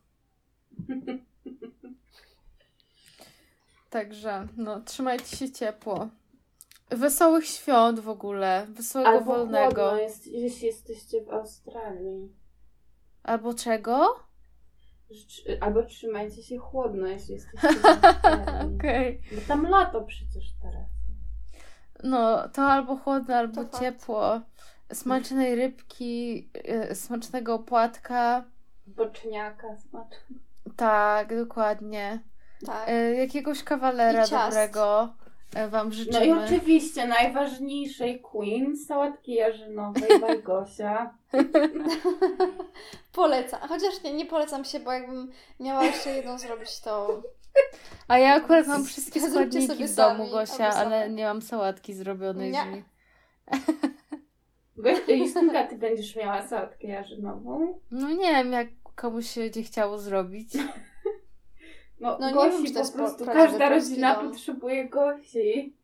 Także, no, trzymajcie się ciepło. Wesołych świąt w ogóle. Wesołego Albo wolnego. chłodno jest, jeśli jesteście w Australii. Albo czego? Życz- Albo trzymajcie się chłodno, jeśli jesteście w Australii. Okej. Bo tam lato przecież teraz. No, to albo chłodno, albo To fakt. ciepło. Smacznej rybki, y, smacznego opłatka. Boczniaka smacznego. Tak, dokładnie. Tak. Y, jakiegoś kawalera I ciast. dobrego y, wam No i życzymy. oczywiście najważniejszej queen, sałatki jarzynowej, Bajgosia. Polecam. Chociaż nie, nie polecam się, bo jakbym miała jeszcze jedną zrobić, to A ja akurat mam wszystkie Zróbcie składniki sobie w domu, sami, Gosia, albo ale same. nie mam sałatki zrobionej Nie. z nich. Gosia, Justynka, ty będziesz miała sałatkę jarzynową? No nie wiem, jak komuś się będzie chciało zrobić. No, No nie Gosi wiem, czy to po jest prostu, po- prawdziwy każda polski rodzina dom. potrzebuje Gosi.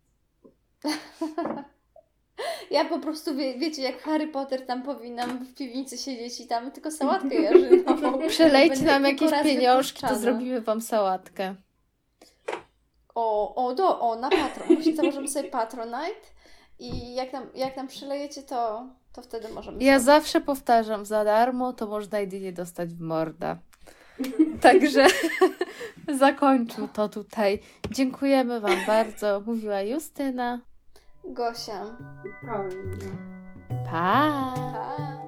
ja po prostu, wie, wiecie, jak Harry Potter tam powinnam w piwnicy siedzieć i tam tylko sałatkę jarzynową. Przelejcie Będę nam kilku jakieś razy pieniążki, to wypuszczana. zrobimy wam sałatkę. O, o, do, o, na Patron. Właśnie założymy sobie Patronite i jak nam, jak nam przylejecie, to, to wtedy możemy Ja sobie- zawsze powtarzam, za darmo to można jedynie dostać w morda. Także zakończył to tutaj. Dziękujemy wam bardzo. Mówiła Justyna. Gosia. Prawильно. Pa! Pa.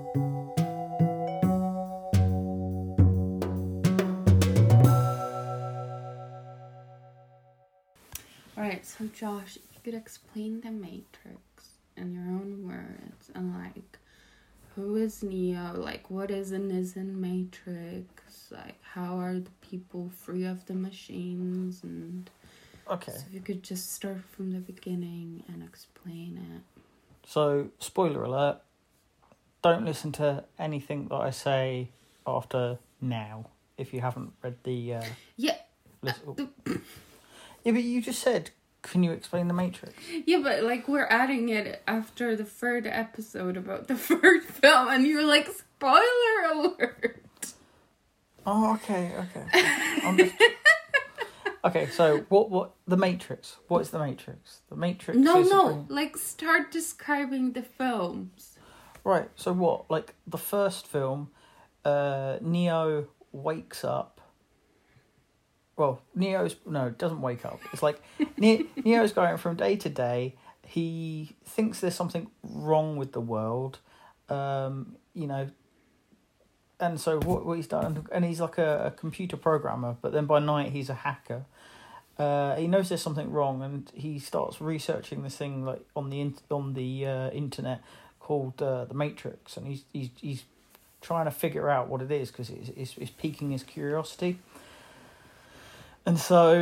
Alright, so Josh, if you could explain the Matrix in your own words and like who is Neo, like what is a Nizan Matrix, like how are the people free of the machines, and Okay. so if you could just start from the beginning and explain it. So, spoiler alert, don't listen to anything that I say after now if you haven't read the. Uh, Yeah. list- yeah, but you just said can you explain the Matrix? Yeah, but like we're adding it after the third episode about the third film, and you're like, spoiler alert. Oh, okay, okay. I'm just... Okay, so what? What the Matrix? What is the Matrix? The Matrix. No, is no. bring... Like start describing the films. Right. So what? Like the first film, uh, Neo wakes up. Well, Neo's no, it doesn't wake up. It's like ne- Neo's going from day to day. He thinks there's something wrong with the world. Um, you know. And so what what he's done, and he's like a, a computer programmer, but then by night he's a hacker. Uh, he knows there's something wrong, and he starts researching this thing like on the in, on the uh, internet called uh, the Matrix, and he's he's he's trying to figure out what it is because it's, it's it's piquing his curiosity. And so,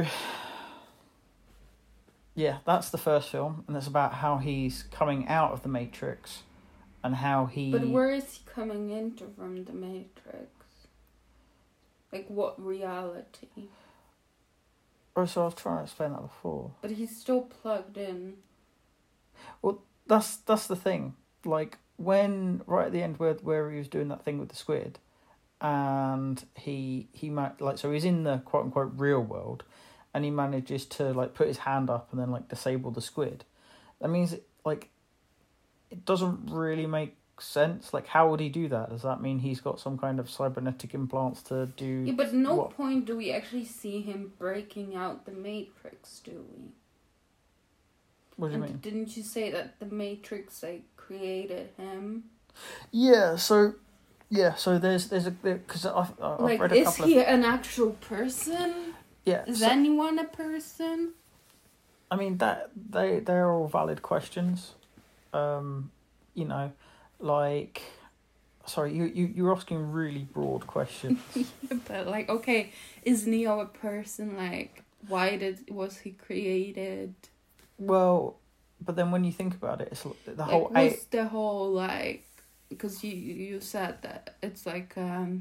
yeah, that's the first film, and it's about how he's coming out of the Matrix. And how he... But where is he coming into from the Matrix? Like, what reality? Oh, so I was trying to explain that before. But he's still plugged in. Well, that's that's the thing. Like, when... Right at the end where where he was doing that thing with the squid, and he... he might like So he's in the quote-unquote real world, and he manages to, like, put his hand up and then, like, disable the squid. That means, like... It doesn't really make sense. Like, how would he do that? Does that mean he's got some kind of cybernetic implants to do... Yeah, but at no what? point do we actually see him breaking out the Matrix, do we? What do you and mean? Didn't you say that the Matrix, like, created him? Yeah, so... Yeah, so there's there's a... Because I've, I've like, read a is couple he of... an actual person? Yeah. Is so, anyone a person? I mean, that they, they're all valid questions. Um, you know, like, sorry, you, you, you're asking really broad questions. Yeah, but like, okay, is Neo a person? Like, why did was he created? Well, but then when you think about it, it's the Like, whole... what's eight... the whole, like, because you, you said that it's like, um,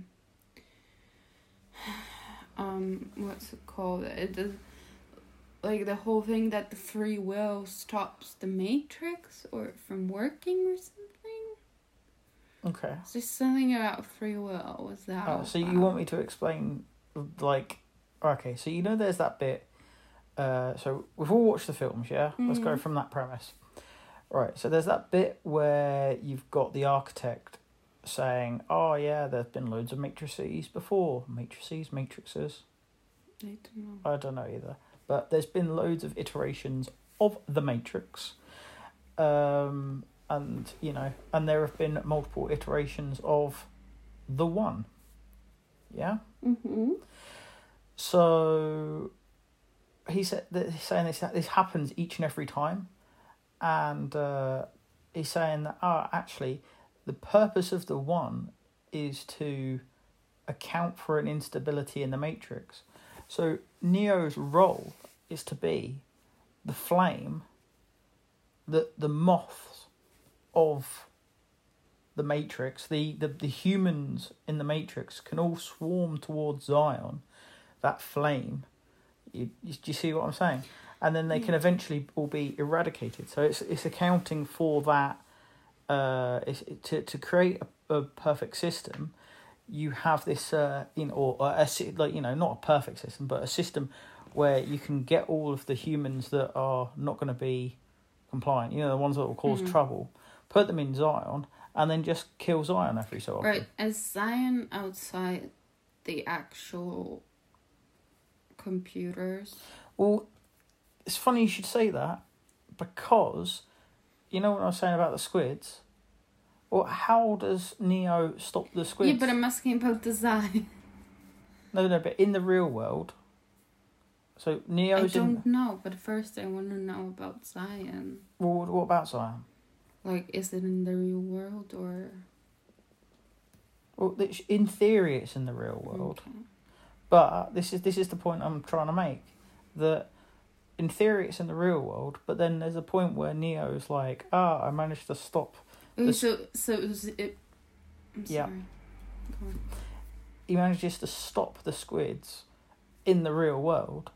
um, what's it called? It is, like, the whole thing that the free will stops the Matrix or from working or something? Okay. Is there something about free will? Was that? Oh, so you want me to explain, like... Okay, so you know there's that bit... Uh, so we've all watched the films, yeah? Mm. Let's go from that premise. Right, so there's that bit where you've got the architect saying, oh, yeah, there's been loads of matrices before. Matrices? Matrixes? I don't know. I don't know either. But there's been loads of iterations of the Matrix. Um, and, you know, and there have been multiple iterations of the One. Yeah? Mm-hmm. So he said that he's saying this this happens each and every time. And uh, he's saying that, oh, actually, the purpose of the One is to account for an instability in the Matrix. So Neo's role is to be the flame, the the moths of the Matrix. The, the, the humans in the Matrix can all swarm towards Zion, that flame. You, you, do you see what I'm saying? And then they can eventually all be eradicated. So it's it's accounting for that. Uh, it's, to to create a, a perfect system. You have this, uh, you know, or, or a, like you know, not a perfect system, but a system where you can get all of the humans that are not going to be compliant. You know, the ones that will cause mm-hmm. trouble. Put them in Zion, and then just kill Zion every so often. Right, is Zion outside the actual computers? Well, it's funny you should say that, because you know what I was saying about the squids. Well, how does Neo stop the squids? Yeah, but I'm asking about the Zion. No, no, but in the real world. So Neo's I don't in... know, but first I want to know about Zion. Well, what about Zion? Like, is it in the real world or... Well, in theory it's in the real world. Okay. But this is this is the point I'm trying to make. That in theory it's in the real world, but then there's a point where Neo's like, ah, oh, I managed to stop... Okay, so, so it was it... I'm yeah. sorry. He manages to stop the squids in the real world,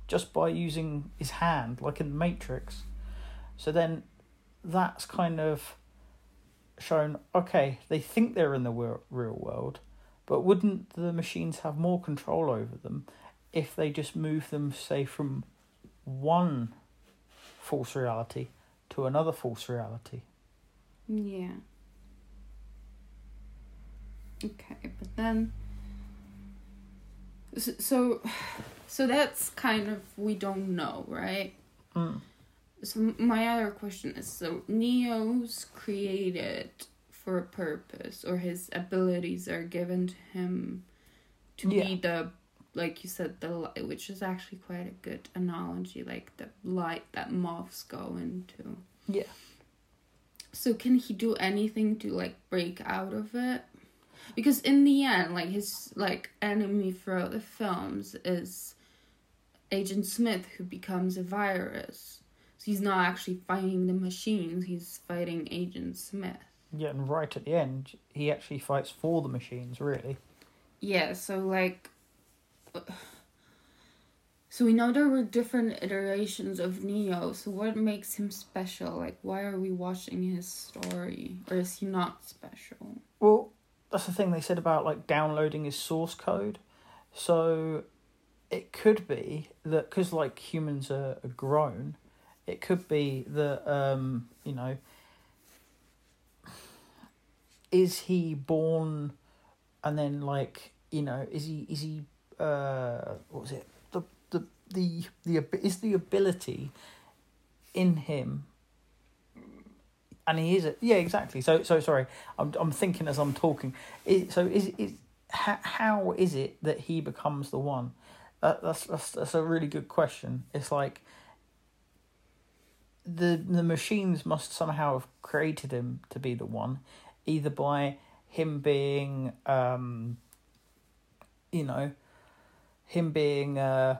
just by using his hand, like in the Matrix. So then that's kind of shown, okay, they think they're in the real world, but wouldn't the machines have more control over them if they just move them, say, from one false reality to another false reality? Yeah. Okay, but then... So, so that's kind of, we don't know, right? Mm. So my other question is, so Neo's created for a purpose, or his abilities are given to him to Yeah. be the, like you said, the light, which is actually quite a good analogy, like the light that moths go into. Yeah. So can he do anything to, like, break out of it? Because in the end, like, his, like, enemy throughout the films is Agent Smith, who becomes a virus. So he's not actually fighting the machines, he's fighting Agent Smith. Yeah, and right at the end, he actually fights for the machines, really. Yeah, so, like... So we know there were different iterations of Neo, so what makes him special? Like, why are we watching his story? Or is he not special? Well, that's the thing they said about, like, downloading his source code. So it could be that, because, like, humans are, are grown, it could be that, um, you know, is he born and then, like, you know, is he, is he, uh, what was it? The, the, the, the, is the ability in him, and he is, a, yeah, exactly. So, so sorry, I'm, I'm thinking as I'm talking. Is, so is, is, how, how is it that he becomes the one? That, that's, that's, that's a really good question. It's like, the the machines must somehow have created him to be the one, either by him being, um, you know, him being, uh,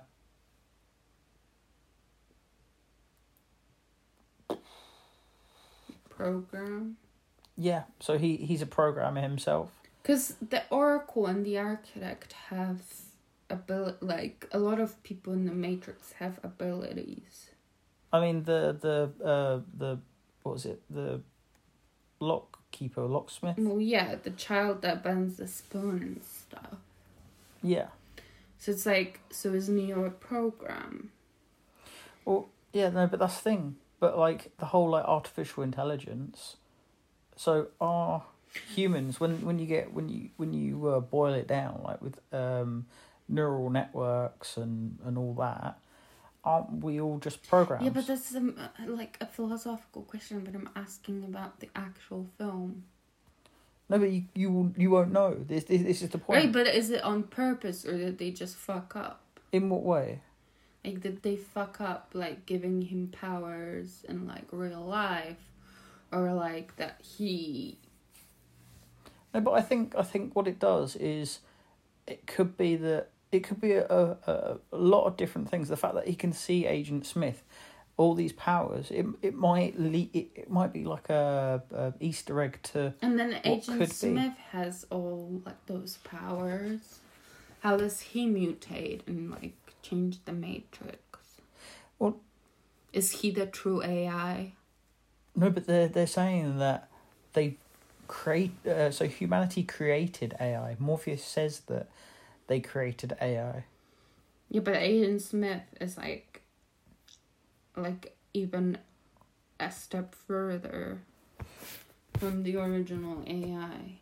Program? yeah, so he, he's a programmer himself. Because the Oracle and the Architect have ability, like, a lot of people in the Matrix have abilities. I mean, the, the, uh, the, what was it, the lock keeper, locksmith? Well, yeah, the child that bends the spoon and stuff. Yeah. So it's like, so is Neo a program? Well, yeah, no, but that's the thing. But, like, the whole, like, artificial intelligence, so are humans, when, when you get, when you, when you uh, boil it down, like, with um, neural networks and, and all that, aren't we all just programs? Yeah, but that's um, like a philosophical question, but I'm asking about the actual film. No, but you you, you won't know. This, this this is the point. Right, but is it on purpose, or did they just fuck up? In what way? Like, did they fuck up, like, giving him powers in, like, real life? Or, like, that he... No, but I think I think what it does is, it could be that it could be a, a, a lot of different things. The fact that he can see Agent Smith, all these powers, it it might le- it, it might be like a, a Easter egg to. And then Agent could be. Smith has all, like, those powers. How does he mutate and, like, change the Matrix? Well, is he the true A I? No, but they're they're saying that they create. Uh, so humanity created A I. Morpheus says that they created A I. Yeah, but Agent Smith is like, like even a step further from the original A I.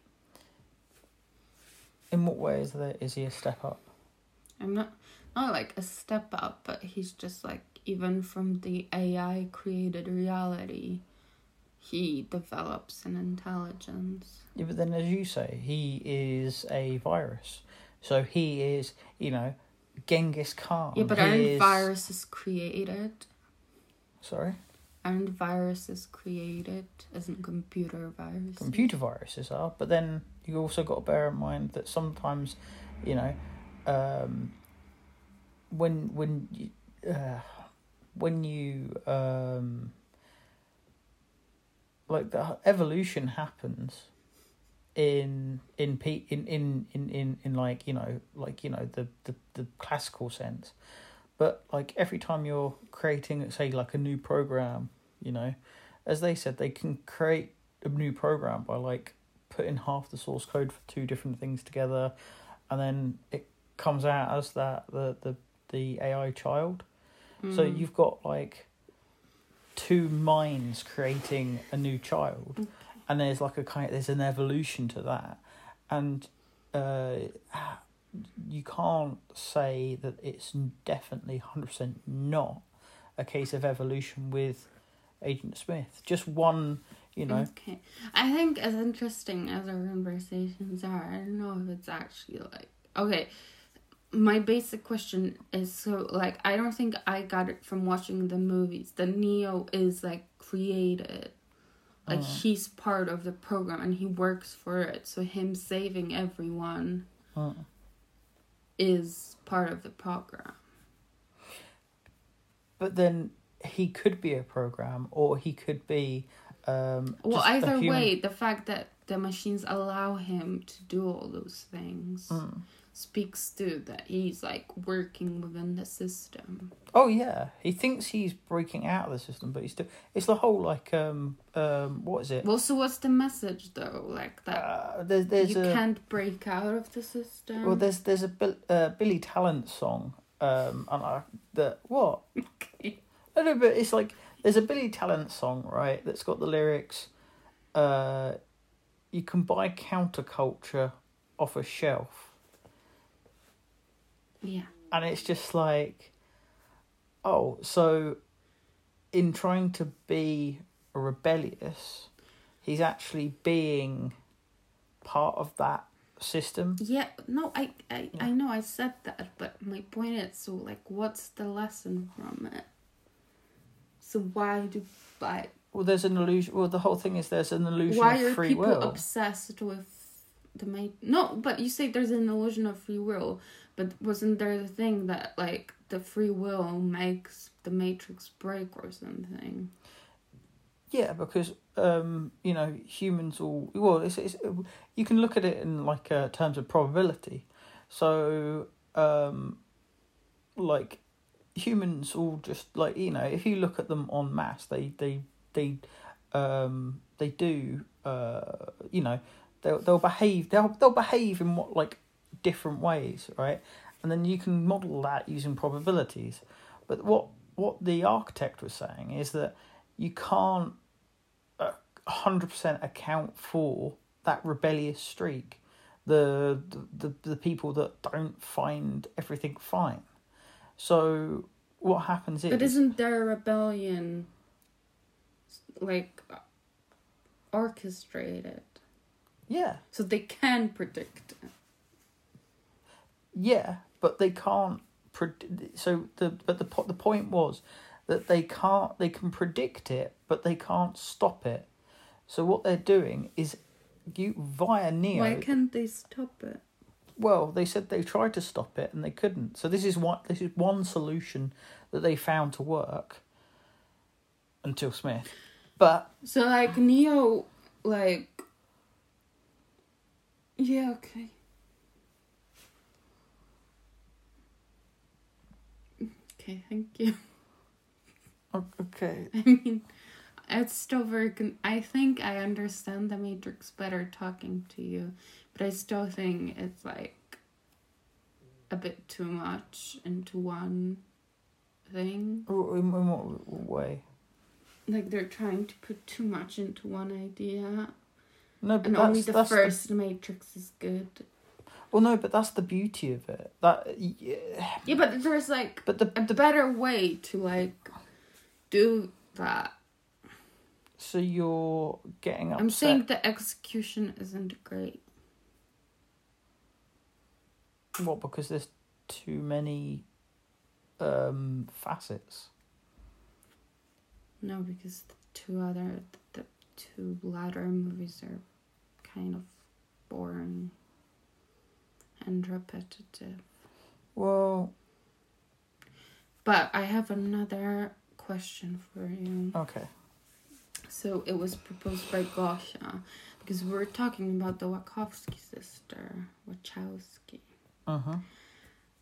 In what way is that? Is he a step up? I'm not not like a step up, but he's just like, even from the A I created reality, he develops an intelligence. Yeah, but then as you say, he is a virus. So he is, you know, Genghis Khan. Yeah, but he aren't is... viruses created? Sorry? Aren't viruses created as in computer viruses? Computer viruses are, but then you also got to bear in mind that sometimes, you know, um, when when you uh, when you um, like the evolution happens in in pe in in in in, in like you know like you know the, the, the classical sense, But like every time you're creating, say, like a new program, you know, as they said, they can create a new program by like putting half the source code for two different things together, and then it comes out as that the the, the A I child. Mm. So you've got like two minds creating a new child, okay. And there's like a kind of, there's an evolution to that, and uh, you can't say that it's definitely one hundred percent not a case of evolution with Agent Smith. Just one, you know. Okay. I think as interesting as our conversations are, I don't know if it's actually like... Okay, my basic question is, so, like, I don't think I got it from watching the movies. The Neo is, like, created. Like, uh. he's part of the program and he works for it. So him saving everyone uh. is part of the program. But then he could be a program, or he could be... Um, well, either way, the fact that the machines allow him to do all those things mm. speaks to that he's like working within the system. Oh yeah, he thinks he's breaking out of the system, but he's still. It's the whole like um um what is it? Well, so what's the message though? Like that uh, there's, there's you a, can't break out of the system. Well, there's there's a Bill, uh, Billy Talent song um and I that what? Okay. I know, but it's like. There's a Billy Talent song, right, that's got the lyrics, uh, you can buy counterculture off a shelf. Yeah. And it's just like, oh, so in trying to be rebellious, he's actually being part of that system. Yeah, no, I, I, yeah. I know I said that, but my point is, so, like, what's the lesson from it? So why do like? Well, there's an illusion. Well, the whole thing is there's an illusion why of free will. Why are people obsessed with the ma- No, but you say there's an illusion of free will, but wasn't there the thing that like the free will makes the Matrix break or something? Yeah, because um, you know, humans all well. It's, it's you can look at it in like uh, terms of probability. So, um, like. Humans all just like, you know, if you look at them en masse, they they they um they do uh you know they'll they'll behave they'll they'll behave in what like different ways, right? And then you can model that using probabilities. But what what the architect was saying is that you can't a hundred percent account for that rebellious streak, the, the the the people that don't find everything fine. So what happens is... But isn't there a rebellion, like, orchestrated? Yeah. So they can predict it. Yeah, but they can't... Pred- so the but the the point was that they can't... They can predict it, but they can't stop it. So what they're doing is, you via Neo... Why can't they stop it? Well, they said they tried to stop it and they couldn't. So this is what this is one solution that they found to work until Smith. But so like Neo, like yeah, okay, okay, thank you. Okay. I mean, it's still very. Con- I think I understand the Matrix better talking to you. But I still think it's, like, a bit too much into one thing. In, in what way? Like, they're trying to put too much into one idea. No, but and that's, only the that's first the... Matrix is good. Well, no, but that's the beauty of it. That Yeah, yeah but there's, like, but the, a the... better way to, like, do that. So you're getting upset. I'm saying the execution isn't great. What, because there's too many um, facets? No, because the two other, the two latter movies are kind of boring and repetitive. Well... But I have another question for you. Okay. So it was proposed by Gosha, because we were talking about the Wachowski sister, Wachowski. Uh-huh. And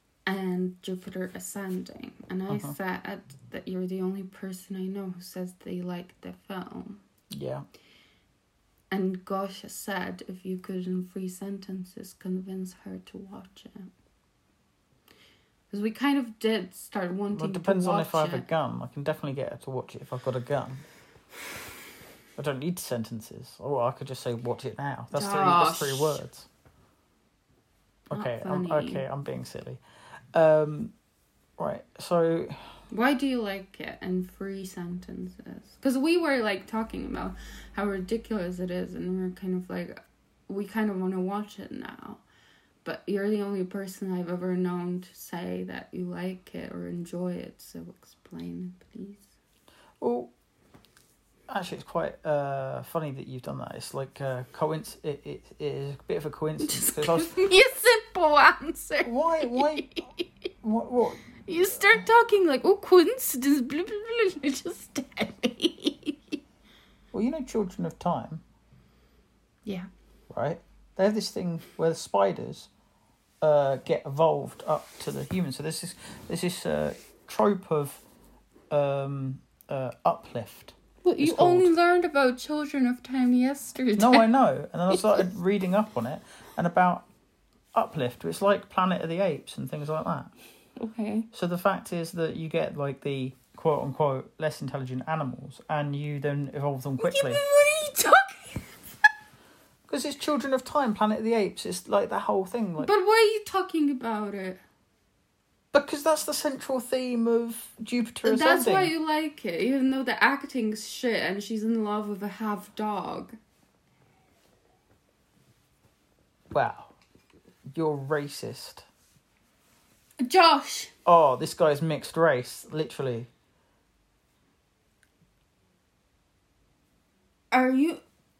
and Jupiter Ascending, and I Uh-huh. said that you're the only person I know who says they like the film. Yeah. And Gosha said if you could in three sentences convince her to watch it. Because we kind of did start wanting Well, it depends to watch on if I have it. a gun. I can definitely get her to watch it if I've got a gun. I don't need sentences. Or I could just say, watch it now. That's three, that's three Josh. words. Not Okay, I'm, funny. okay, I'm being silly. Um, right, so... Why do you like it in three sentences? Because we were like talking about how ridiculous it is, and we're kind of like, we kind of want to watch it now. But you're the only person I've ever known to say that you like it or enjoy it, so explain it, please. Well, actually, it's quite uh, funny that you've done that. It's like uh, coinc- it, it, it is a bit of a coincidence. Just 'cause I was- give me a simple answer. Why? Why? What? What? You start talking like, oh, coincidence, blah, blah, blah. You just tell me. Well, you know, Children of Time, Yeah. right? They have this thing where the spiders uh, get evolved up to the humans. So there's this, there's this uh, trope of um, uh, uplift. Well, you It's called- only learned about Children of Time yesterday. No, I know. And then I started reading up on it and about uplift. It's like Planet of the Apes and things like that. Okay. So the fact is that you get like the quote unquote less intelligent animals and you then evolve them quickly. What are you talking? Because it's Children of Time, Planet of the Apes. It's like that whole thing. Like, But why are you talking about it? because that's the central theme of Jupiter Ascending. That's why you like it, even though the acting's shit and she's in love with a half dog. Wow. You're racist. Josh! Oh, this guy's mixed race, literally. Are you...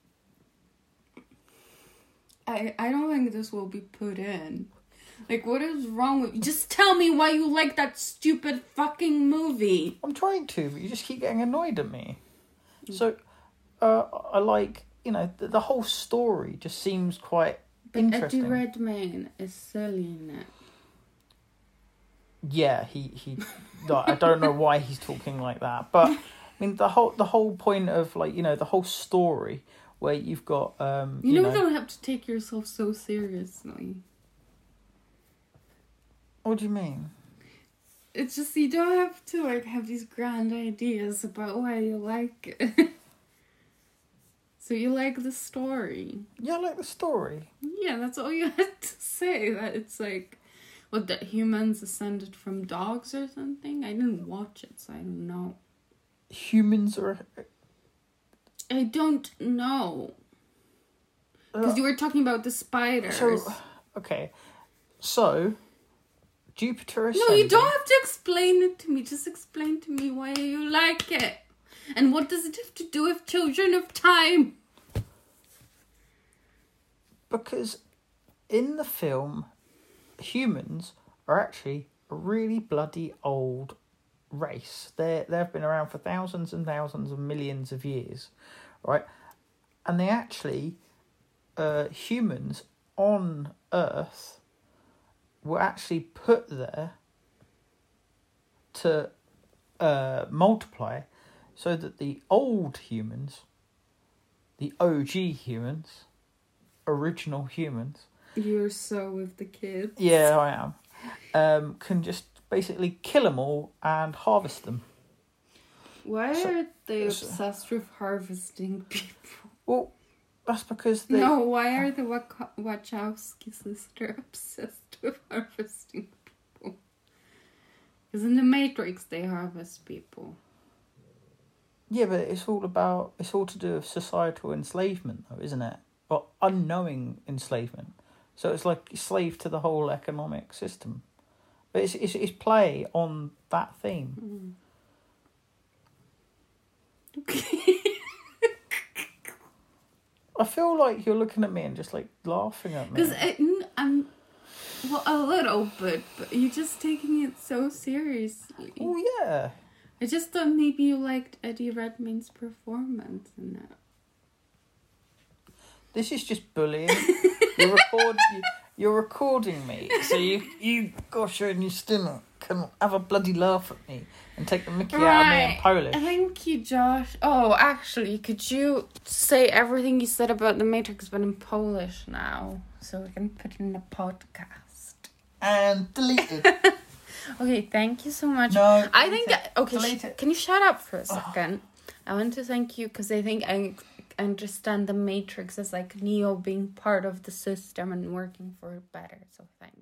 I I don't think this will be put in. Like, what is wrong with you? Just tell me why you like that stupid fucking movie. I'm trying to, but you just keep getting annoyed at me. So, uh, I like, you know, the, the whole story just seems quite But interesting. Eddie Redmayne is silly in it. Yeah, he he. like, I don't know why he's talking like that, but I mean the whole the whole point of like you know the whole story where you've got um You, you, know, know, you don't have to take yourself so seriously. what do you mean? It's just you don't have to like have these grand ideas about why you like it. So you like the story. Yeah, I like the story. Yeah, that's all you had to say. That it's like, what, that humans ascended from dogs or something? I didn't watch it, so I don't know. Humans are. I don't know. Because you were talking about the spiders. So, okay, so Jupiter Ascending. No, you don't have to explain it to me. Just explain to me why you like it. And what does it have to do with Children of Time? Because in the film, humans are actually a really bloody old race. They they've been around for thousands and thousands of millions of years, right? And they actually, uh, humans on Earth were actually put there to uh, multiply, so that the old humans, the O G humans, original humans, You're so with the kids. yeah, I am, um, can just basically kill them all and harvest them. Why So- are they so- obsessed with harvesting people? Well, that's because they... No, why are the Wach- Wachowski sisters obsessed with harvesting people? Because in the Matrix they harvest people. Yeah, but it's all about... It's all to do with societal enslavement, though, isn't it? Or unknowing enslavement. So it's like slave to the whole economic system. But it's, it's, it's play on that theme. Okay. I feel like you're looking at me and just, like, laughing at me. Because I'm... Well, a little bit, but you're just taking it so seriously. Oh, yeah. I just thought maybe you liked Eddie Redmayne's performance in it. This is just bullying. you record... You, You're recording me, so you, you gosh, and you still can have a bloody laugh at me and take the mickey out of me in Polish. Thank you, Josh. Oh, actually, could you say everything you said about the Matrix but in Polish now, so we can put it in the podcast? And delete it. Okay, thank you so much. No, I delete think it. okay. Delete Sh- it. can you shut up for a second? I want to thank you because I think I understand the Matrix as like Neo being part of the system and working for it better. So thank